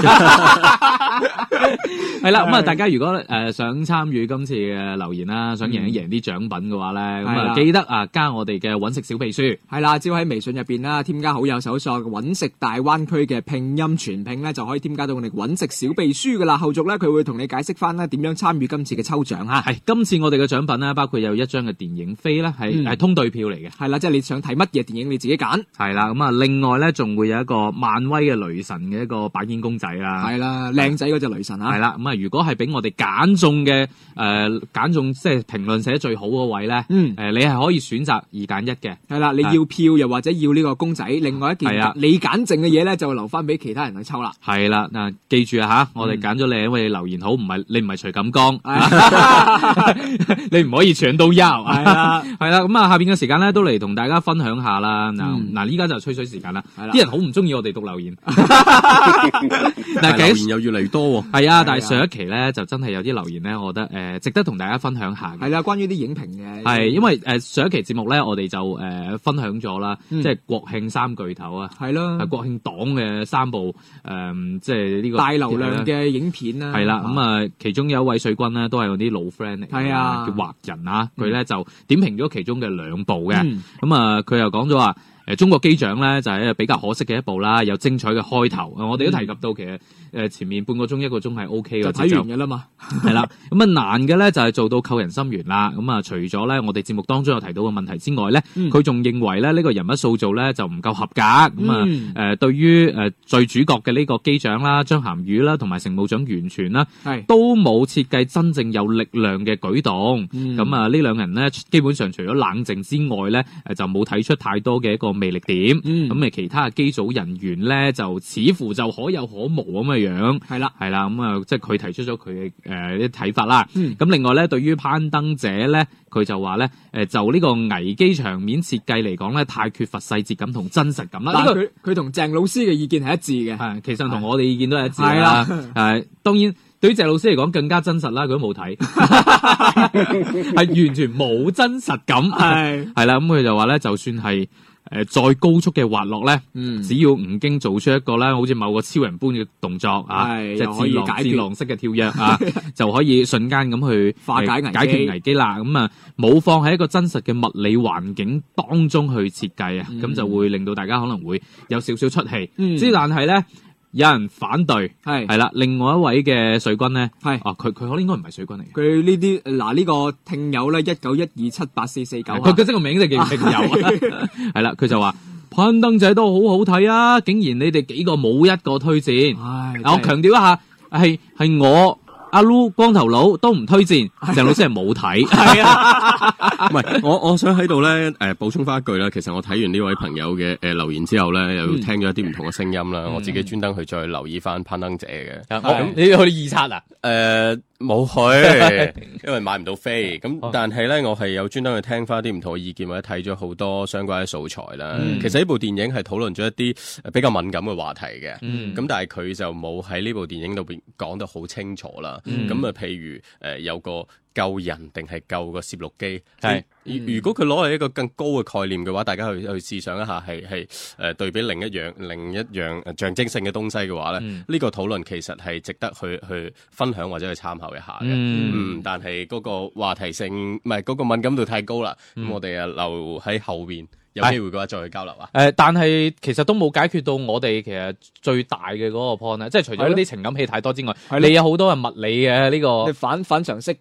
係啦，咁啊，大家如果想參與今次嘅留言啦，想贏一贏啲獎品嘅話咧，咁啊記得加我哋嘅揾食小秘書。 係啦，只要喺微信入邊啦，添加好友搜索揾食大灣區嘅拼音全拼咧，就可以添加到我哋揾食小秘書噶啦。後續咧佢會同你解釋翻咧點樣參與今次嘅抽獎嚇。 係今次我哋嘅獎品咧，包括有一張嘅電影飛咧，係通對票嚟嘅。 係啦，即係你想睇乜嘢電影你自己揀。 係啦，咁啊另外咧仲會有一個漫威嘅雷神嘅一個擺件公仔啦。 係啦，靚仔嗰隻雷神啊。 係啦，咁啊如果係俾我哋揀中嘅揀中即係評論寫得最好嗰位咧，你係可以選擇2揀1嘅。 係啦，你要票又或者要呢個公仔，另外一件你揀剩嘅嘢咧就留翻俾其他人去抽啦。 係啦，嗱記住啊嚇，我哋揀咗你，因為你留言好，你唔係徐錦江，你唔可以搶到優。係啦，咁啊下邊嘅時間咧都嚟同大家分享下啦。嗱依家就吹水時間啦，啲人好唔中意我哋讀留言， 但係留言又越嚟越多喎。 係啊，但係上一期咧就真係有啲留言咧，我覺得值得同大家分享下。 係啦，關於啲影評嘅。 係因為上一期節目咧，我哋就分享咗啦，即係國慶3巨頭啊， 係咯， 係國慶檔嘅3部即係呢個大流量嘅影片啦。 係啦，咁啊其中有一位水軍咧都係我啲老 friend 嚟，係啊，叫華人啊，佢咧就點評咗其中嘅2部嘅，咁啊佢又講咗話。中國機長咧就係比較可惜嘅一部啦，有精彩嘅開頭。我哋都提及到其實前面半個鐘1個鐘係 O K 嘅， 就睇完嘅啦嘛。 係啦，咁啊難嘅咧就係做到扣人心弦啦。咁啊除咗咧我哋節目當中有提到嘅問題之外咧，佢仲認為咧呢個人物塑造咧就唔夠合格。咁啊對於最主角嘅呢個機長啦、張涵予啦同埋乘務長袁泉啦，都冇設計真正有力量嘅舉動。咁啊呢兩人咧基本上除咗冷靜之外咧，就冇睇出太多嘅一個魅力點，咁其他嘅機組人員咧就似乎就可有可無咁嘅樣，係啦，咁啊即係佢提出咗佢嘅啲睇法啦。咁另外咧，對於攀登者咧，佢就話咧就呢個危機場面設計嚟講咧，太缺乏細節感同真實感啦。 但係佢同鄭老師嘅意見係一致嘅， 係其實同我哋意見都係一致啦。當然對於鄭老師嚟講更加真實啦，佢都冇睇，係完全冇真實感，係啦。咁佢就話咧，就算係再高速嘅滑落咧，只要吳京做出一個咧，好似某個超人般嘅動作啊，即係自浪式嘅跳躍啊，就可以瞬間咁去解決危機啦。咁啊，冇放喺一個真實嘅物理環境當中去設計啊，咁就會令到大家可能會有少少出戲。但係咧。有人反對，係啦。另外一位嘅水軍咧，佢可能應該唔係水軍嚟嘅。 佢呢啲嗱呢個聽友咧1912784449， 佢嘅真個名就叫聽友，係啦。佢就話攀登者都好好睇啊，竟然你哋幾個冇一個推薦。我強調一下，係我。阿 Lu 光頭佬都唔推薦，鄭老師係冇睇。係啊， 唔係我想喺度咧補充翻一句啦。其實我睇完呢位朋友嘅留言之後咧，又聽咗一啲唔同嘅聲音啦。我自己專登去再留意翻攀登者嘅。 你去預測啊？ 冇去，因為買唔到飛。咁但係咧，我係有專登去聽翻啲唔同嘅意見，或者睇咗好多相關嘅素材啦。其實呢部電影係討論咗一啲比較敏感嘅話題嘅。咁但係佢就冇喺呢部電影裏邊講得好清楚啦。咁譬如有個救人定係救個攝錄機，如果佢攞嚟一個更高嘅概念嘅話，大家去試想一下，係對比另一樣象徵性嘅東西嘅話咧，呢個討論其實係值得去分享或者去參考一下嘅。但係嗰個話題性唔係嗰個敏感度太高啦，咁我哋留喺後邊。有機會嘅話再去交流啊！ 但係其實都冇解決到我哋其實最大嘅嗰個 point 咧，即係除咗嗰啲情感戲太多之外，你有好多係物理嘅呢個反常識嗰啲，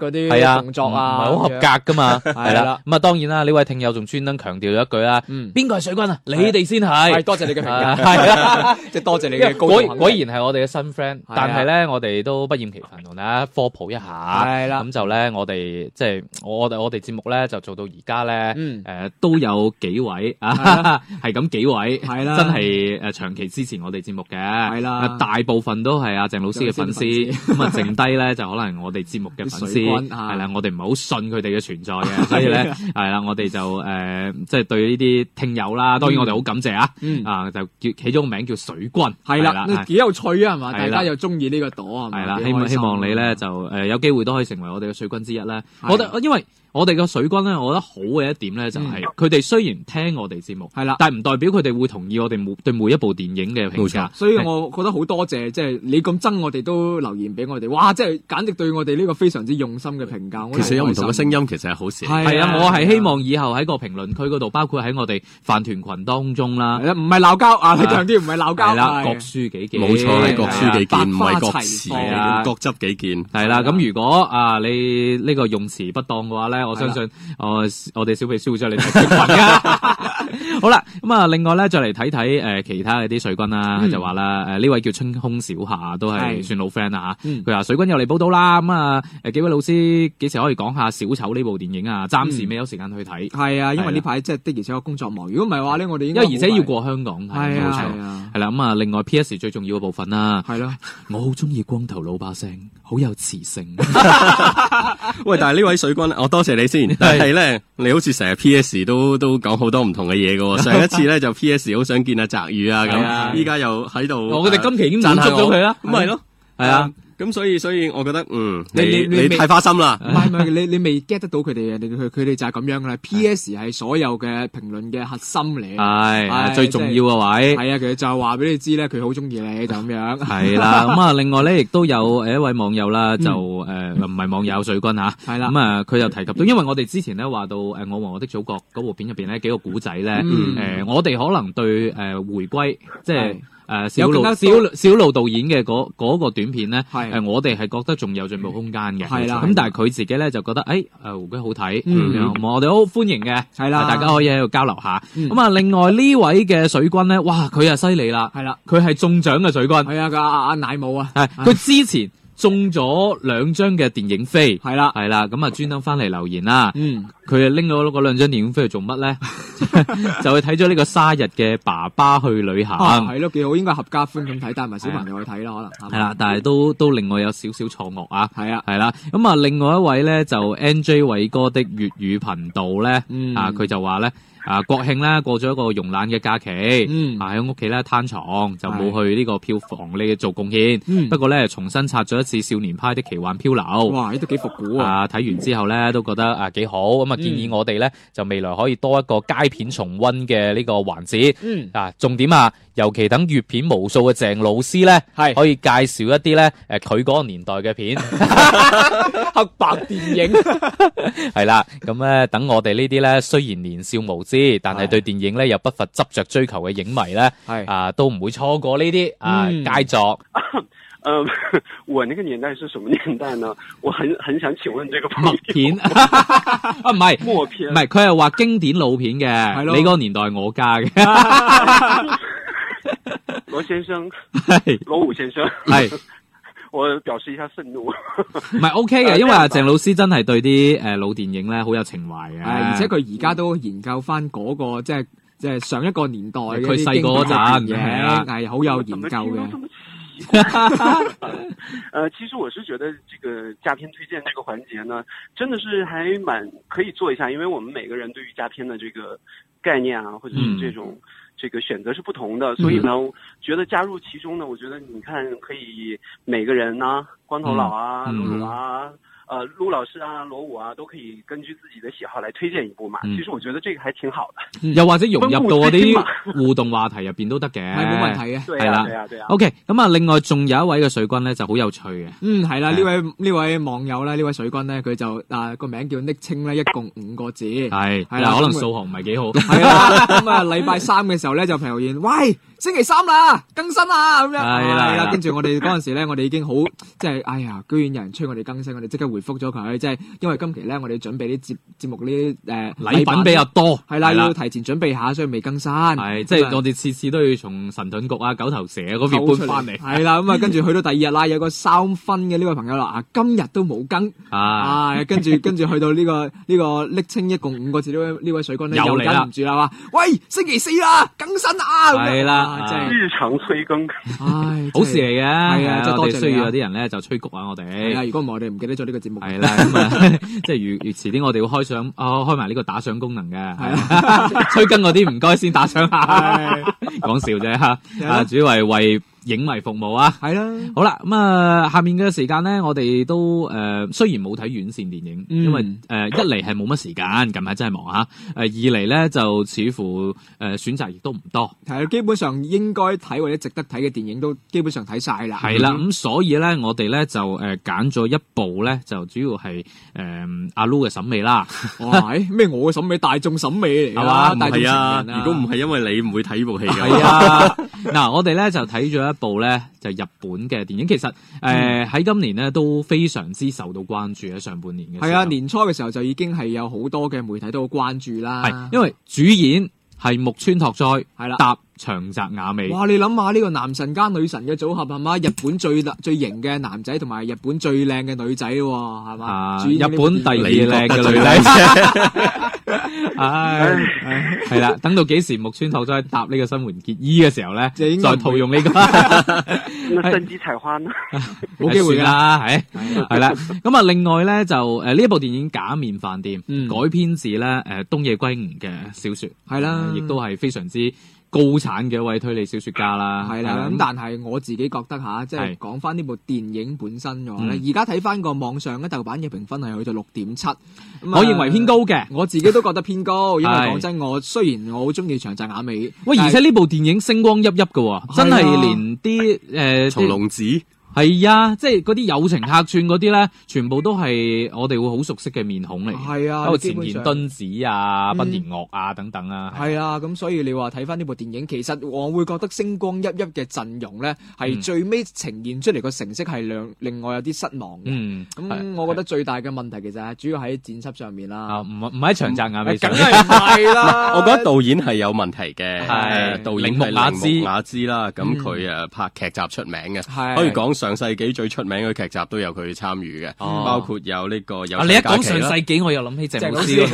嘅動作啊， 唔係好合格噶嘛，係啦。咁啊，當然啦，呢位聽友仲專登強調咗一句啦，邊個係水軍啊？你哋先係。 多謝你嘅評價，係啦，即係多謝你嘅高度肯定。 果然係我哋嘅新 friend，但係咧，我哋都不厭其煩同大家科普一下。係啦，咁就咧，我哋即係我哋節目咧就做到而家咧，都有幾位啊，係咁幾位，係啦，真係長期支持我哋節目嘅，係啦，大部分都係阿鄭老師嘅粉絲，咁啊剩低咧就可能我哋節目嘅粉絲，係啦，我哋唔係好信佢哋嘅存在嘅，所以咧係啦，我哋就即係對呢啲聽友啦，當然我哋好感謝啊，就叫起咗個名叫水軍，係啦，幾有趣啊，係嘛，大家又中意呢個朵係啦，希望你咧就有機會都可以成為我哋嘅水軍之一咧，我覺得因為。我哋嘅水軍咧，我覺得好嘅一點咧，就係佢哋雖然聽我哋節目，係啦，但係唔代表佢哋會同意我哋對每一部電影嘅評價。所以我覺得好多謝，即係你咁憎我哋都留言俾我哋，哇！即係簡直對我哋呢個非常之用心嘅評價。 其實有唔同嘅聲音，其實係好事。 係啊，我係希望以後喺個評論區嗰度，包括喺我哋飯團群當中啦， 唔係鬧交啊，強調唔係鬧交， 係啦，各抒己見， 冇錯，係各抒己見，唔係各持，各執己見。係啦，咁如果你呢個用詞不當嘅話咧，我相信。我哋小秘書會將你睇評論噶。好啦，咁啊，另外咧再嚟睇睇其他嘅啲水軍啦，就話啦，呢位叫春空小夏都係算老 friend 啦吓。佢話水軍又嚟報道啦，咁啊幾位老師幾時可以講下小丑呢部電影啊？暫時未有時間去睇。係啊，因為呢排即係的而且確工作忙。如果唔係話咧，我哋應該因為而且要過香港，係冇錯。係啦，咁啊，另外 PS 最重要嘅部分啦，係咯，我好中意光頭佬把聲，好有磁性。 喂，但係呢位水軍，我多謝你先。但係咧，你好似成日 P.S. 都講好多唔同嘅嘢㗎喎。上一次咧就 P.S. 好想見阿澤宇啊咁，依家又喺度。 我哋今期已經滿足咗佢啦。 咁咪咯，係啊。咁所以我覺得你太花心啦。 唔係你未 get 得到佢哋嘅，佢哋就係咁樣噶啦。P.S. 係所有嘅評論嘅核心嚟， 係最重要嘅位。 係啊，其實就係話俾你知咧，佢好中意你就咁樣。 係啦，咁啊，另外咧亦都有一位網友啦，就唔係網友水軍吓，係啦。咁啊，佢就提及到，因為我哋之前咧話到我和我的祖國嗰部片入邊咧幾個古仔咧，我哋可能對回歸即係。小路導演嘅嗰個短片咧，我哋係覺得仲有進步空間嘅，係啦。咁但係佢自己咧就覺得，回歸好睇，我哋好歡迎嘅，係啦，大家可以喺度交流下。咁啊，另外呢位嘅水軍咧，哇，佢啊犀利啦，係啦，佢係中獎嘅水軍，係啊，阿奶母啊，係佢之前中咗2張嘅電影飛，係啦，咁啊專登翻嚟留言啦，佢啊拎咗嗰2張電影飛去做乜咧？就去睇咗呢個沙日嘅爸爸去旅行， 係咯，幾好，應該合家歡咁睇，帶埋小朋友去睇啦，可能係啦，但係都令我有少少錯愕啊，係啊，係啦，咁啊，另外一位咧就 NJ 偉哥的粵語頻道咧，佢就話咧。國慶咧過咗一個慵懶嘅假期，喺屋企咧攤床就冇去呢個票房呢做貢獻。不過咧重新刷咗一次少年派的奇幻漂流， 哇，呢都幾復古啊！ 睇完之後咧都覺得幾好，咁啊建議我哋咧就未來可以多一個佳片重溫嘅呢個環節。重點尤其等閱片無數嘅鄭老師咧，可以介紹一啲咧佢嗰個年代嘅片， 黑白電影係啦。咁咧等我哋呢啲咧雖然年少無知，但係對電影咧又不乏執着追求嘅影迷咧，都唔會錯過呢啲佳作。 我那個年代是什麼年代呢？我很想請問這個默片唔係默片， 唔係佢係話經典老片嘅，你嗰個年代係我家嘅。 羅先生，羅武先生，我表示一下憤怒。 唔係 OK 嘅，因為阿鄭老師真係對啲老電影咧好有情懷嘅， 而且佢而家都研究翻嗰個即係上一個年代嘅佢細個嗰陣嘅， 係好有研究嘅。 其實我是覺得這個佳片推薦這個環節呢，真的是還蠻可以做一下，因為我們每個人對於佳片的這個概念啊，或者是這種這個選擇是不同的，所以呢，覺得加入其中呢，我覺得你看可以每個人啊，光頭佬啊，露露啊。陸老師啊，羅武啊，都可以根據自己的喜好來推薦一部嘛。其實我覺得這個還挺好的。 又或者融入到嗰啲互動話題入邊都得嘅， 係冇問題嘅。 係啦，對啊。 OK，咁啊，另外仲有一位嘅水軍咧就好有趣嘅。 係啦，呢位網友咧，呢位水軍咧，佢就個名叫昵稱咧，一共5個字。係啦，可能數學唔係幾好。係啦，咁啊，禮拜3嘅時候咧就留言，喂，星期3啦，更新啦，咁樣。係啦，跟住我哋嗰陣時咧，我哋已經好即係，哎呀，居然有人催我哋更新，我哋即刻回覆咗佢，即係因為今期咧我哋準備啲節目啲禮品比較多， 係啦，要提前準備下，所以未更新。 係即係我哋次次都要從神盾局啊、九頭蛇嗰邊搬翻嚟。 係啦，咁啊跟住去到第二日啦，有個3分嘅呢位朋友啦，今日都冇更跟住去到呢個昵稱一共5個字呢位水軍咧又忍唔住啦，話喂星期4啦，更新啊！ 係啦， 真係日常催更， 好事嚟嘅。係啊，即係多謝需要有啲人咧就催谷啊，我哋。 係啊，如果唔係我哋唔記得咗呢個節目。 係啦，咁啊，即係如遲啲我哋會開埋呢個打賞功能嘅。係啊，催更嗰啲唔該先打賞下，講笑啫嚇。主要係為影迷服務啊，係啦。好啦，咁下面嘅時間咧，我哋都雖然冇睇院線電影，因為一嚟係冇乜時間，近排真係忙嚇。二嚟咧就似乎選擇亦都唔多。 係基本上應該睇或者值得睇嘅電影都基本上睇晒啦。 係啦，咁所以咧我哋咧就揀咗一部咧，就主要係阿 Lu 嘅審美啦。 哇，咩我嘅審美，大眾審美嚟㗎嘛？大眾情人啊！ 如果唔係因為你唔會睇呢部戲㗎。 係啊，嗱我哋咧就睇咗一部咧就日本嘅電影，其實喺今年咧都非常之受到關注喺上半年嘅時候。 係啊，年初嘅時候就已經係有好多嘅媒體都好關注啦。 係因為主演係木村拓哉， 係啦， 搭長澤雅美。 哇！你諗下呢個男神加女神嘅組合係嘛？日本最型嘅男仔同埋日本最靚嘅女仔喎，係嘛？ 日本第2靚嘅女仔。係啦，等到幾時木村拓哉搭呢個新垣結衣嘅時候咧，再套用呢個。 三級彩花呢？ 冇機會啦，係啦。咁啊，另外咧就呢一部電影《假面飯店》改編自咧東野圭吾嘅小說，係啦，亦都係非常之高產嘅一位推理小說家啦。 係啦，咁但係我自己覺得吓，即係講翻呢部電影本身嘅話咧，而家睇翻個網上嘅豆瓣嘅評分係去到6.7， 我認為偏高嘅， 我自己都覺得偏高，因為講真，我雖然我好中意長澤雅美， 喂，而且呢部電影星光熠熠嘅，真係連啲松隆子。 係啊，即係嗰啲友情客串嗰啲咧，全部都係我哋會好熟悉嘅面孔嚟。 係啊， 包括前田敦子啊、濱田岳啊等等啊。 係啊，咁所以你話睇翻呢部電影，其實我會覺得星光熠熠嘅陣容咧，係最尾呈現出嚟個成色係另外有啲失望嘅。咁我覺得最大嘅問題其實係主要喺剪輯上面啦。 唔喺長澤雅美上。 梗係唔係啦。 我覺得導演係有問題嘅。係導演係鈴木雅之啦，咁佢拍劇集出名嘅，可以講上世紀最出名嘅劇集都有佢參與嘅，包括有呢個有。 你一講上世紀，我又諗起鄭老師。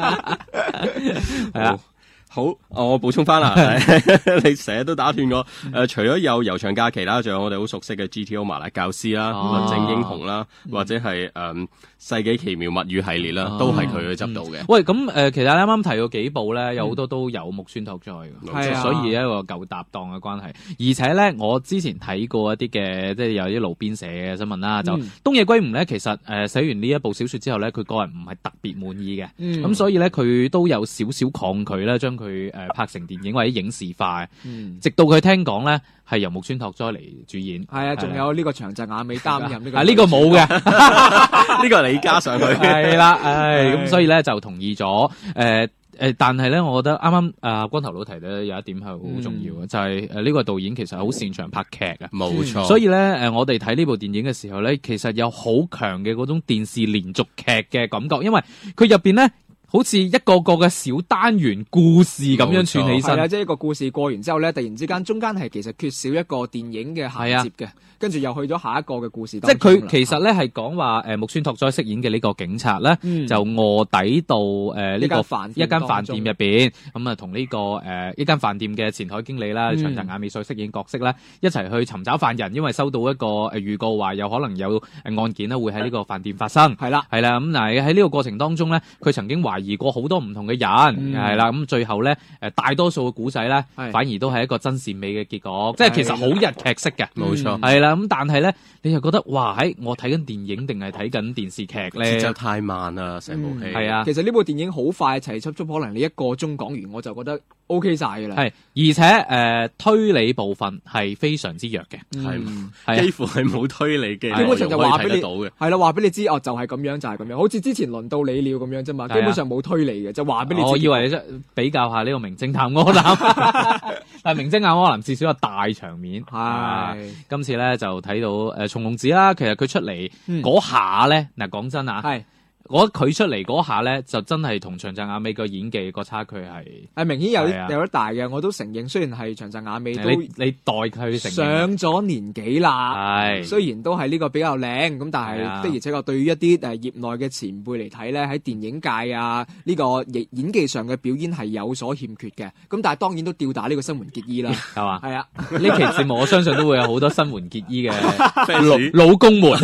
係啊。 好，我補充翻啦，你成日都打斷我。除咗有悠長假期啦，仲有我哋好熟悉嘅 GTO 麻辣教師啦、論證英雄啦，或者係世紀奇妙物語系列啦，都係佢去執到嘅。 喂，咁其實你啱啱提過幾部咧，有好多都有木村拓哉嘅，所以一個舊搭檔嘅關係。而且咧，我之前睇過一啲嘅，即係有啲路邊社嘅新聞啦，就東野圭吾咧，其實寫完呢一部小說之後咧，佢個人唔係特別滿意嘅，咁所以咧佢都有少少抗拒咧，將佢拍成電影或者影視化，直到佢聽講咧係由木村拓哉嚟主演。係啊， 仲有呢個長澤雅美擔任呢個。 呢個冇嘅， 呢個係你加上去。 係啦，咁所以咧就同意咗。但係咧，我覺得啱啱光頭佬提咧有一點係好重要嘅，就係呢個導演其實好擅長拍劇嘅。 冇錯。 所以咧我哋睇呢部電影嘅時候咧，其實有好強嘅嗰種電視連續劇嘅感覺，因為佢入邊咧，好似一個個嘅小單元故事咁樣串起身。 係啊，即係一個故事過完之後咧，突然之間中間係其實缺少一個電影嘅銜接嘅，跟住又去咗下一個嘅故事當中。 即係佢其實咧係講話木村拓哉飾演嘅呢個警察咧，就臥底到一間飯店入邊，咁啊同呢個一間飯店嘅前台經理啦，長澤雅美所飾演角色咧，一齊去尋找犯人，因為收到一個預告話有可能有案件咧會喺呢個飯店發生。係啦，咁但係喺呢個過程當中咧，佢曾經懷疑過好多唔同嘅人，係啦，咁最後咧大多數嘅古仔咧，反而都係一個真善美嘅結果，即係其實好日劇式嘅。 冇錯， 係啦，咁但係咧，你又覺得哇，我睇緊電影定係睇緊電視劇咧？ 節奏太慢啦，成部戲。 係啊， 其實呢部電影好快齊輯，可能你1個鐘講完，我就覺得 OK 晒嘅啦。 係，而且推理部分係非常之弱嘅， 係幾乎係冇推理嘅， 基本上就話俾你到嘅， 係啦，話俾你知哦，就係咁樣，就係咁樣，好似之前輪到你了咁樣啫嘛，基本上冇推理嘅，就話俾你知。 我以為你比較下呢個名偵探柯南，但係名偵探柯南至少有大場面。係今次咧就睇到松隆子啦，其實佢出嚟嗰下咧，嗱講真啊，係。我覺得佢出嚟嗰下咧，就真係同長澤雅美個演技個差距係明顯有得大嘅，我都承認。雖然係長澤雅美都你代佢承認上咗年紀啦， 係雖然都係呢個比較靚咁，但係的而且確對於一啲業內嘅前輩嚟睇咧，喺電影界啊呢個演技上嘅表演係有所欠缺嘅。咁但係當然都吊打呢個新垣結衣啦，係嘛？係啊， 呢期節目我相信都會有好多新垣結衣嘅老公們。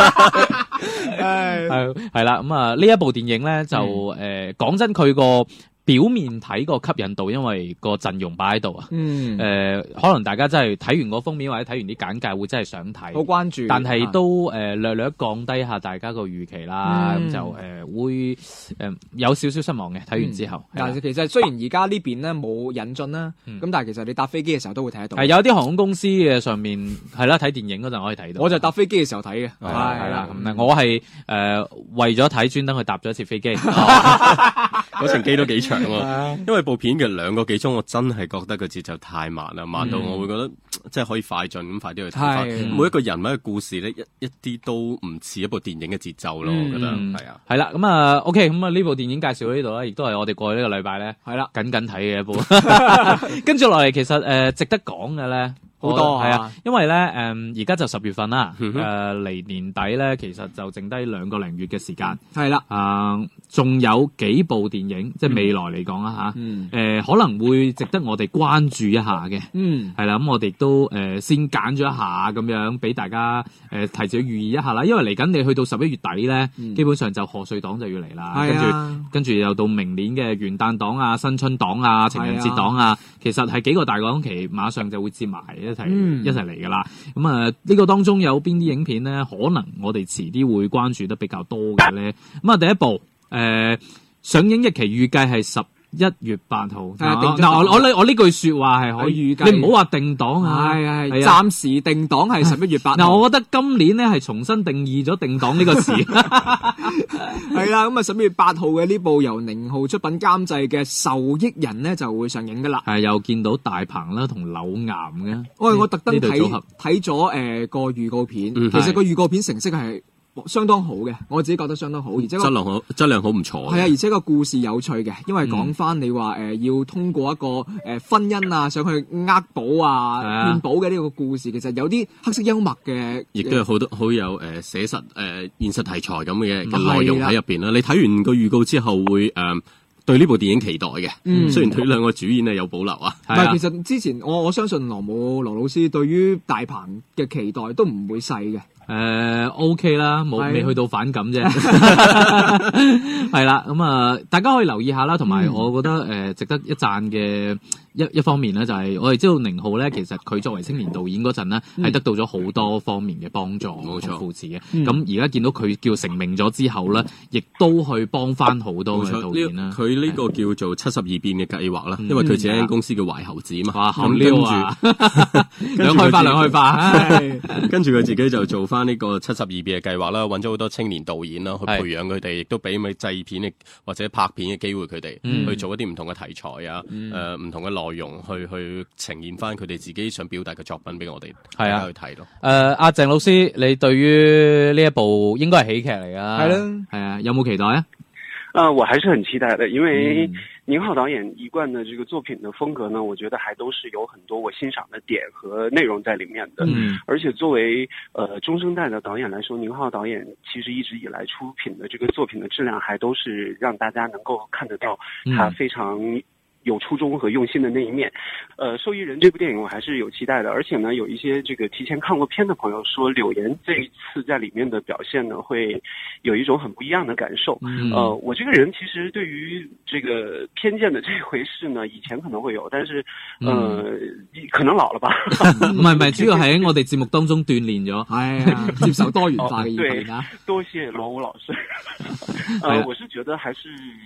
係啦，咁啊呢一部電影咧就講真佢個表面睇個吸引度，因為個陣容擺喺度啊。可能大家真係睇完個封面或者睇完啲簡介會真係想睇， 好關注。 但係都略略降低下大家個預期啦，咁就會有少少失望嘅。睇完之後， 但係其實雖然而家呢邊咧冇引進啦，咁但係其實你搭飛機嘅時候都會睇得到。 係有啲航空公司嘅上面係啦，睇電影嗰陣可以睇到。 我就搭飛機嘅時候睇嘅， 係啦。咁我係為咗睇專登去搭咗一次飛機， 嗰程機都幾長。因為部片嘅2個幾鐘，我真係覺得個節奏太慢啦，慢到我會覺得即係可以快進咁快啲去睇翻。每一個人物嘅故事咧，一啲都唔似一部電影嘅節奏咯，我覺得係啊。 係啦，咁啊 OK，咁啊呢部電影介紹到呢度啦，亦都係我哋過去呢個禮拜咧，係啦緊睇嘅一部。跟住落嚟，其實值得講嘅咧。好多係啊，因為咧而家就10月份啦，離年底咧其實就剩低2個零月嘅時間， 係啦， 仲有幾部電影，即係未來嚟講啦嚇，可能會值得我哋關注一下嘅，係啦，咁我哋都先揀咗一下咁樣，俾大家提早預意一下啦，因為嚟緊你去到11月底咧，基本上就賀歲檔就要嚟啦，跟住又到明年嘅元旦檔啊、新春檔啊、情人節檔啊，其實係幾個大檔期馬上就會接埋一齊嚟噶啦，咁呢個當中有邊啲影片咧？可能我哋遲啲會關注得比較多嘅咧。咁第一部上映日期預計係11月8號。嗱，我呢句說話係可以預計，你唔好話定檔啊， 係暫時定檔係11月8號。 嗱，我覺得今年咧係重新定義咗定檔呢個詞。 係啦，咁11月8號嘅呢部由寧浩出品監製嘅《受益人》咧就會上映噶啦。 係又見到大鵬啦同柳岩嘅。 我特登睇咗個預告片，其實個預告片成色係相當好嘅，我自己覺得相當好，而且質量好唔錯。 係啊，而且個故事有趣嘅，因為講翻你話要通過一個婚姻啊，想去呃保啊、騙保嘅呢個故事，其實有啲黑色幽默嘅， 亦都有好有寫實現實題材咁嘅內容喺入邊啦。你睇完個預告之後會對呢部電影期待嘅，雖然對2個主演係有保留啊。 但係其實之前我相信羅老師對於大鵬嘅期待都唔會細嘅。 OK 啦，未去到反感啫。係啦，咁大家可以留意下啦，同埋我覺得值得一讚嘅一方面咧，就係我哋知道寧浩咧，其實佢作為青年導演嗰陣咧，係得到咗好多方面嘅幫助，冇錯，扶持嘅。咁而家見到佢叫成名咗之後咧，亦都去幫翻好多嘅導演啦。 佢呢個叫做72變嘅計劃啦，因為佢自己間公司叫懷猴子嘛， 咁跟住兩開花， 跟住佢自己就做翻呢個72變嘅計劃啦，揾咗好多青年導演啦，去培養佢哋，亦都俾咪製片嘅或者拍片嘅機會佢哋，去做一啲唔同嘅題材啊，唔同嘅內容去呈現翻佢哋自己想表達嘅作品俾我哋大家去睇咯。阿鄭老師，你對於呢一部應該係喜劇嚟㗎？ 係啦， 係啊，有冇期待啊？ 我還是很期待的，因為寧浩導演一貫的這個作品的風格呢，我覺得還都是有很多我欣賞的點和內容在裡面的。而且作為中生代的導演來說，寧浩導演其實一直以來出品的這個作品的質量，還都是讓大家能夠看得到他非常有初衷和用心的那一面。受益人這部電影我還是有期待的，而且呢，有一些這個提前看過片的朋友說，柳岩這一次在裡面的表現呢，會有一種很不一樣的感受。我這個人其實對於這個偏見的這回事呢，以前可能會有，但是可能老了吧。 唔係，主要係喺我哋節目當中鍛鍊咗，係接受多元化嘅意見啊。 多謝羅武老師。我是覺得還是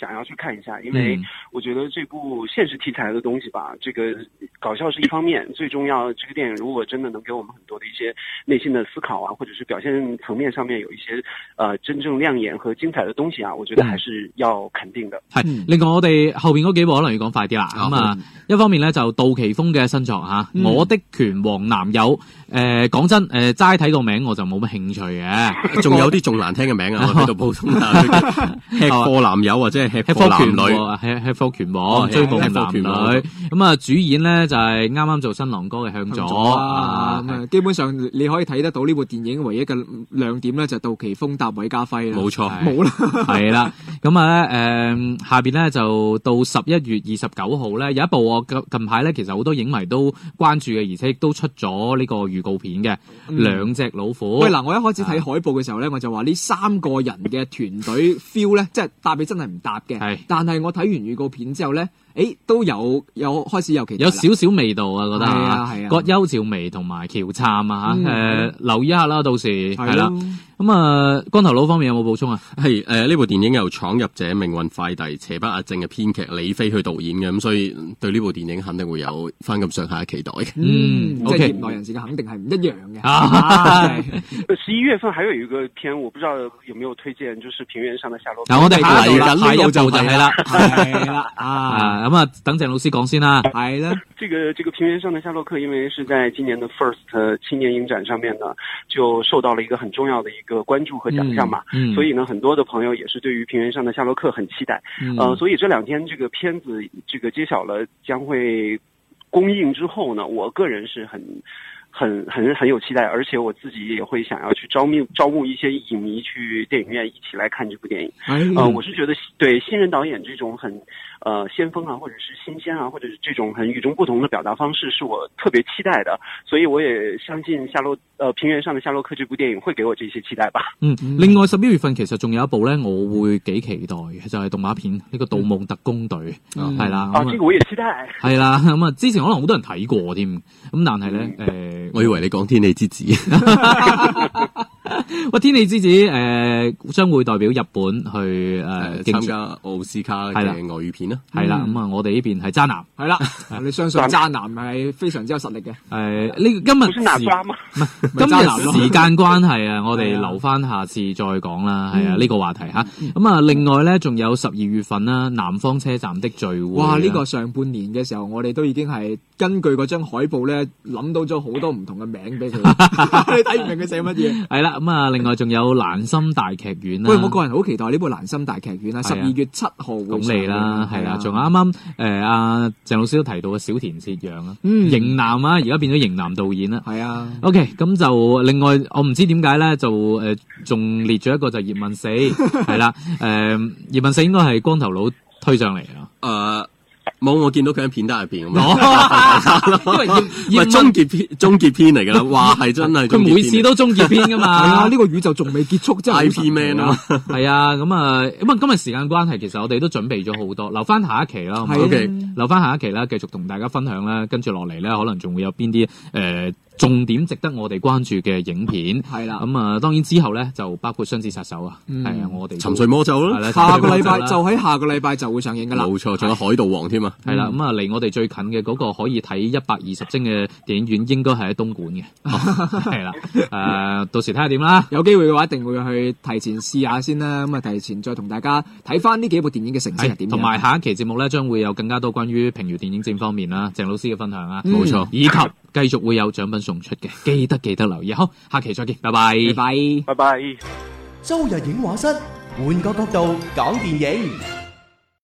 想要去看一下，因为我觉得这部现实题材的东西吧，这个搞笑是一方面，最重要这个电影如果真的能給我們很多的一些內心的思考啊，或者是表現層面上面有一些真正亮眼和精彩的東西啊，我覺得還是要肯定的。 係，另外我哋後邊嗰幾部可能要講快啲啦。咁一方面咧就杜琪峰嘅新作嚇，我的拳王男友。講真，齋睇個名我就冇乜興趣嘅， 仲有啲仲難聽嘅名啊！我喺度補充下，吃貨男友或者係吃貨男女， 吃貨拳王追捕男女。咁啊，主演咧就係啱啱做新郎哥嘅向佐。 基本上你可以睇得到呢部電影唯一嘅亮點咧就係杜琪峰搭韋家輝啦。 冇錯， 冇啦。 係啦，咁啊咧下邊咧就到11月29號咧有一部我近排咧其實好多影迷都關注嘅，而且亦都出咗呢個預告片嘅兩隻老虎。 喂嗱，我一開始睇海報嘅時候咧，我就話呢3個人嘅團隊 feel 咧，即係搭你真係唔搭嘅。係，但係我睇完預告片之後咧，都有開始有期待， 有少少味道啊，覺得係啊， 葛優、趙薇同埋喬杉啊留意一下啦，到時係啦。咁光頭佬方面有冇補充啊？ 係呢部電影由《闖入者命運快遞》邪不壓正嘅編劇李飛去導演嘅，咁所以對呢部電影肯定會有翻咁上下嘅期待嘅。 即係業內人士嘅肯定係唔一樣嘅。 11月份還有一個片，我不知道有沒有推薦，就是《平原上的夏洛克》。 嗱，我哋嚟緊呢部就係啦， 係啦咁啊，等鄭老師講先啦。 係啦， 這個平原上的夏洛克，因為是在今年的 FIRST 青年影展上面呢，就受到了一個很重要的一個關注和獎項嘛，所以呢，很多的朋友也是對於平原上的夏洛克很期待。所以這兩天這個片子這個揭曉了將會公映之後呢，我個人是很有期待，而且我自己也會想要去招募一些影迷去電影院一起來看這部電影。我是覺得對新人導演這種很先鋒啊，或者是新鮮啊，或者是這種很與眾不同的表達方式，是我特別期待的。所以我也相信平原上的夏洛克這部電影會給我這些期待吧。 另外11月份其實仲有一部咧，我會幾期待嘅，就係動畫片呢個《盜夢特工隊》，係啦。 這個我也期待。 係啦，咁啊，之前可能好多人睇過添，咁但係咧， 我以為你講《天氣之子》。 喂，《天氣之子》將會代表日本去參加奧斯卡嘅外語片啦。 係啦，咁啊，我哋呢邊係渣男。 係啦，你相信渣男係非常之有實力嘅。 呢今日時間關係啊，我哋留翻下次再講啦。係啊，呢個話題嚇。咁啊，另外咧，仲有12月份啦，南方車站的聚會。 哇！呢個上半年嘅時候，我哋都已經係根據嗰張海報咧，諗到咗好多唔同嘅名俾佢。你睇唔明佢寫乜嘢？係啦。咁啊，另外仲有蘭心大劇院啦。喂，我個人好期待呢部蘭心大劇院啊！12月7號會上嚟啦，係啦，仲有啱啱阿鄭老師都提到嘅小田切讓啊，型男啊，而家變咗型男導演啦。係啊。OK，咁就另外我唔知點解咧，就仲列咗一個就葉問4係啦。葉問4應該係光頭佬推上嚟啊。 冇，我見到佢喺片單入邊咁樣，因為唔係終結篇嚟㗎啦，哇係真係， 佢每次都終結篇㗎嘛， 係啊，呢個宇宙仲未結束，真係 IP man 啊， 係啊，咁啊今日時間關係，其實我哋都準備咗好多，留翻下一期啦，OK，留翻下一期啦，繼續同大家分享啦，跟住落嚟咧，可能仲會有邊啲重點值得我哋關注嘅影片係啦，咁啊當然之後咧就包括雙子殺手啊，係啊，我哋沉睡魔咒啦， 下個禮拜就喺下個禮拜就會上映噶啦， 冇錯，仲有海盜王添啊， 係啦，咁啊離我哋最近嘅嗰個可以睇120幀嘅電影院應該係喺東莞嘅，係啦，到時睇下點啦， 有機會嘅話一定會去提前試下先啦，咁啊提前再同大家睇翻呢幾部電影嘅成績係點， 同埋下一期節目咧將會有更加多關於評語電影展方面啦，鄭老師嘅分享啊， 冇錯， 以及繼續會有獎品送出嘅，記得留意。好，下期再見，拜拜， 拜拜。 周日影畫室，換個角度講電影。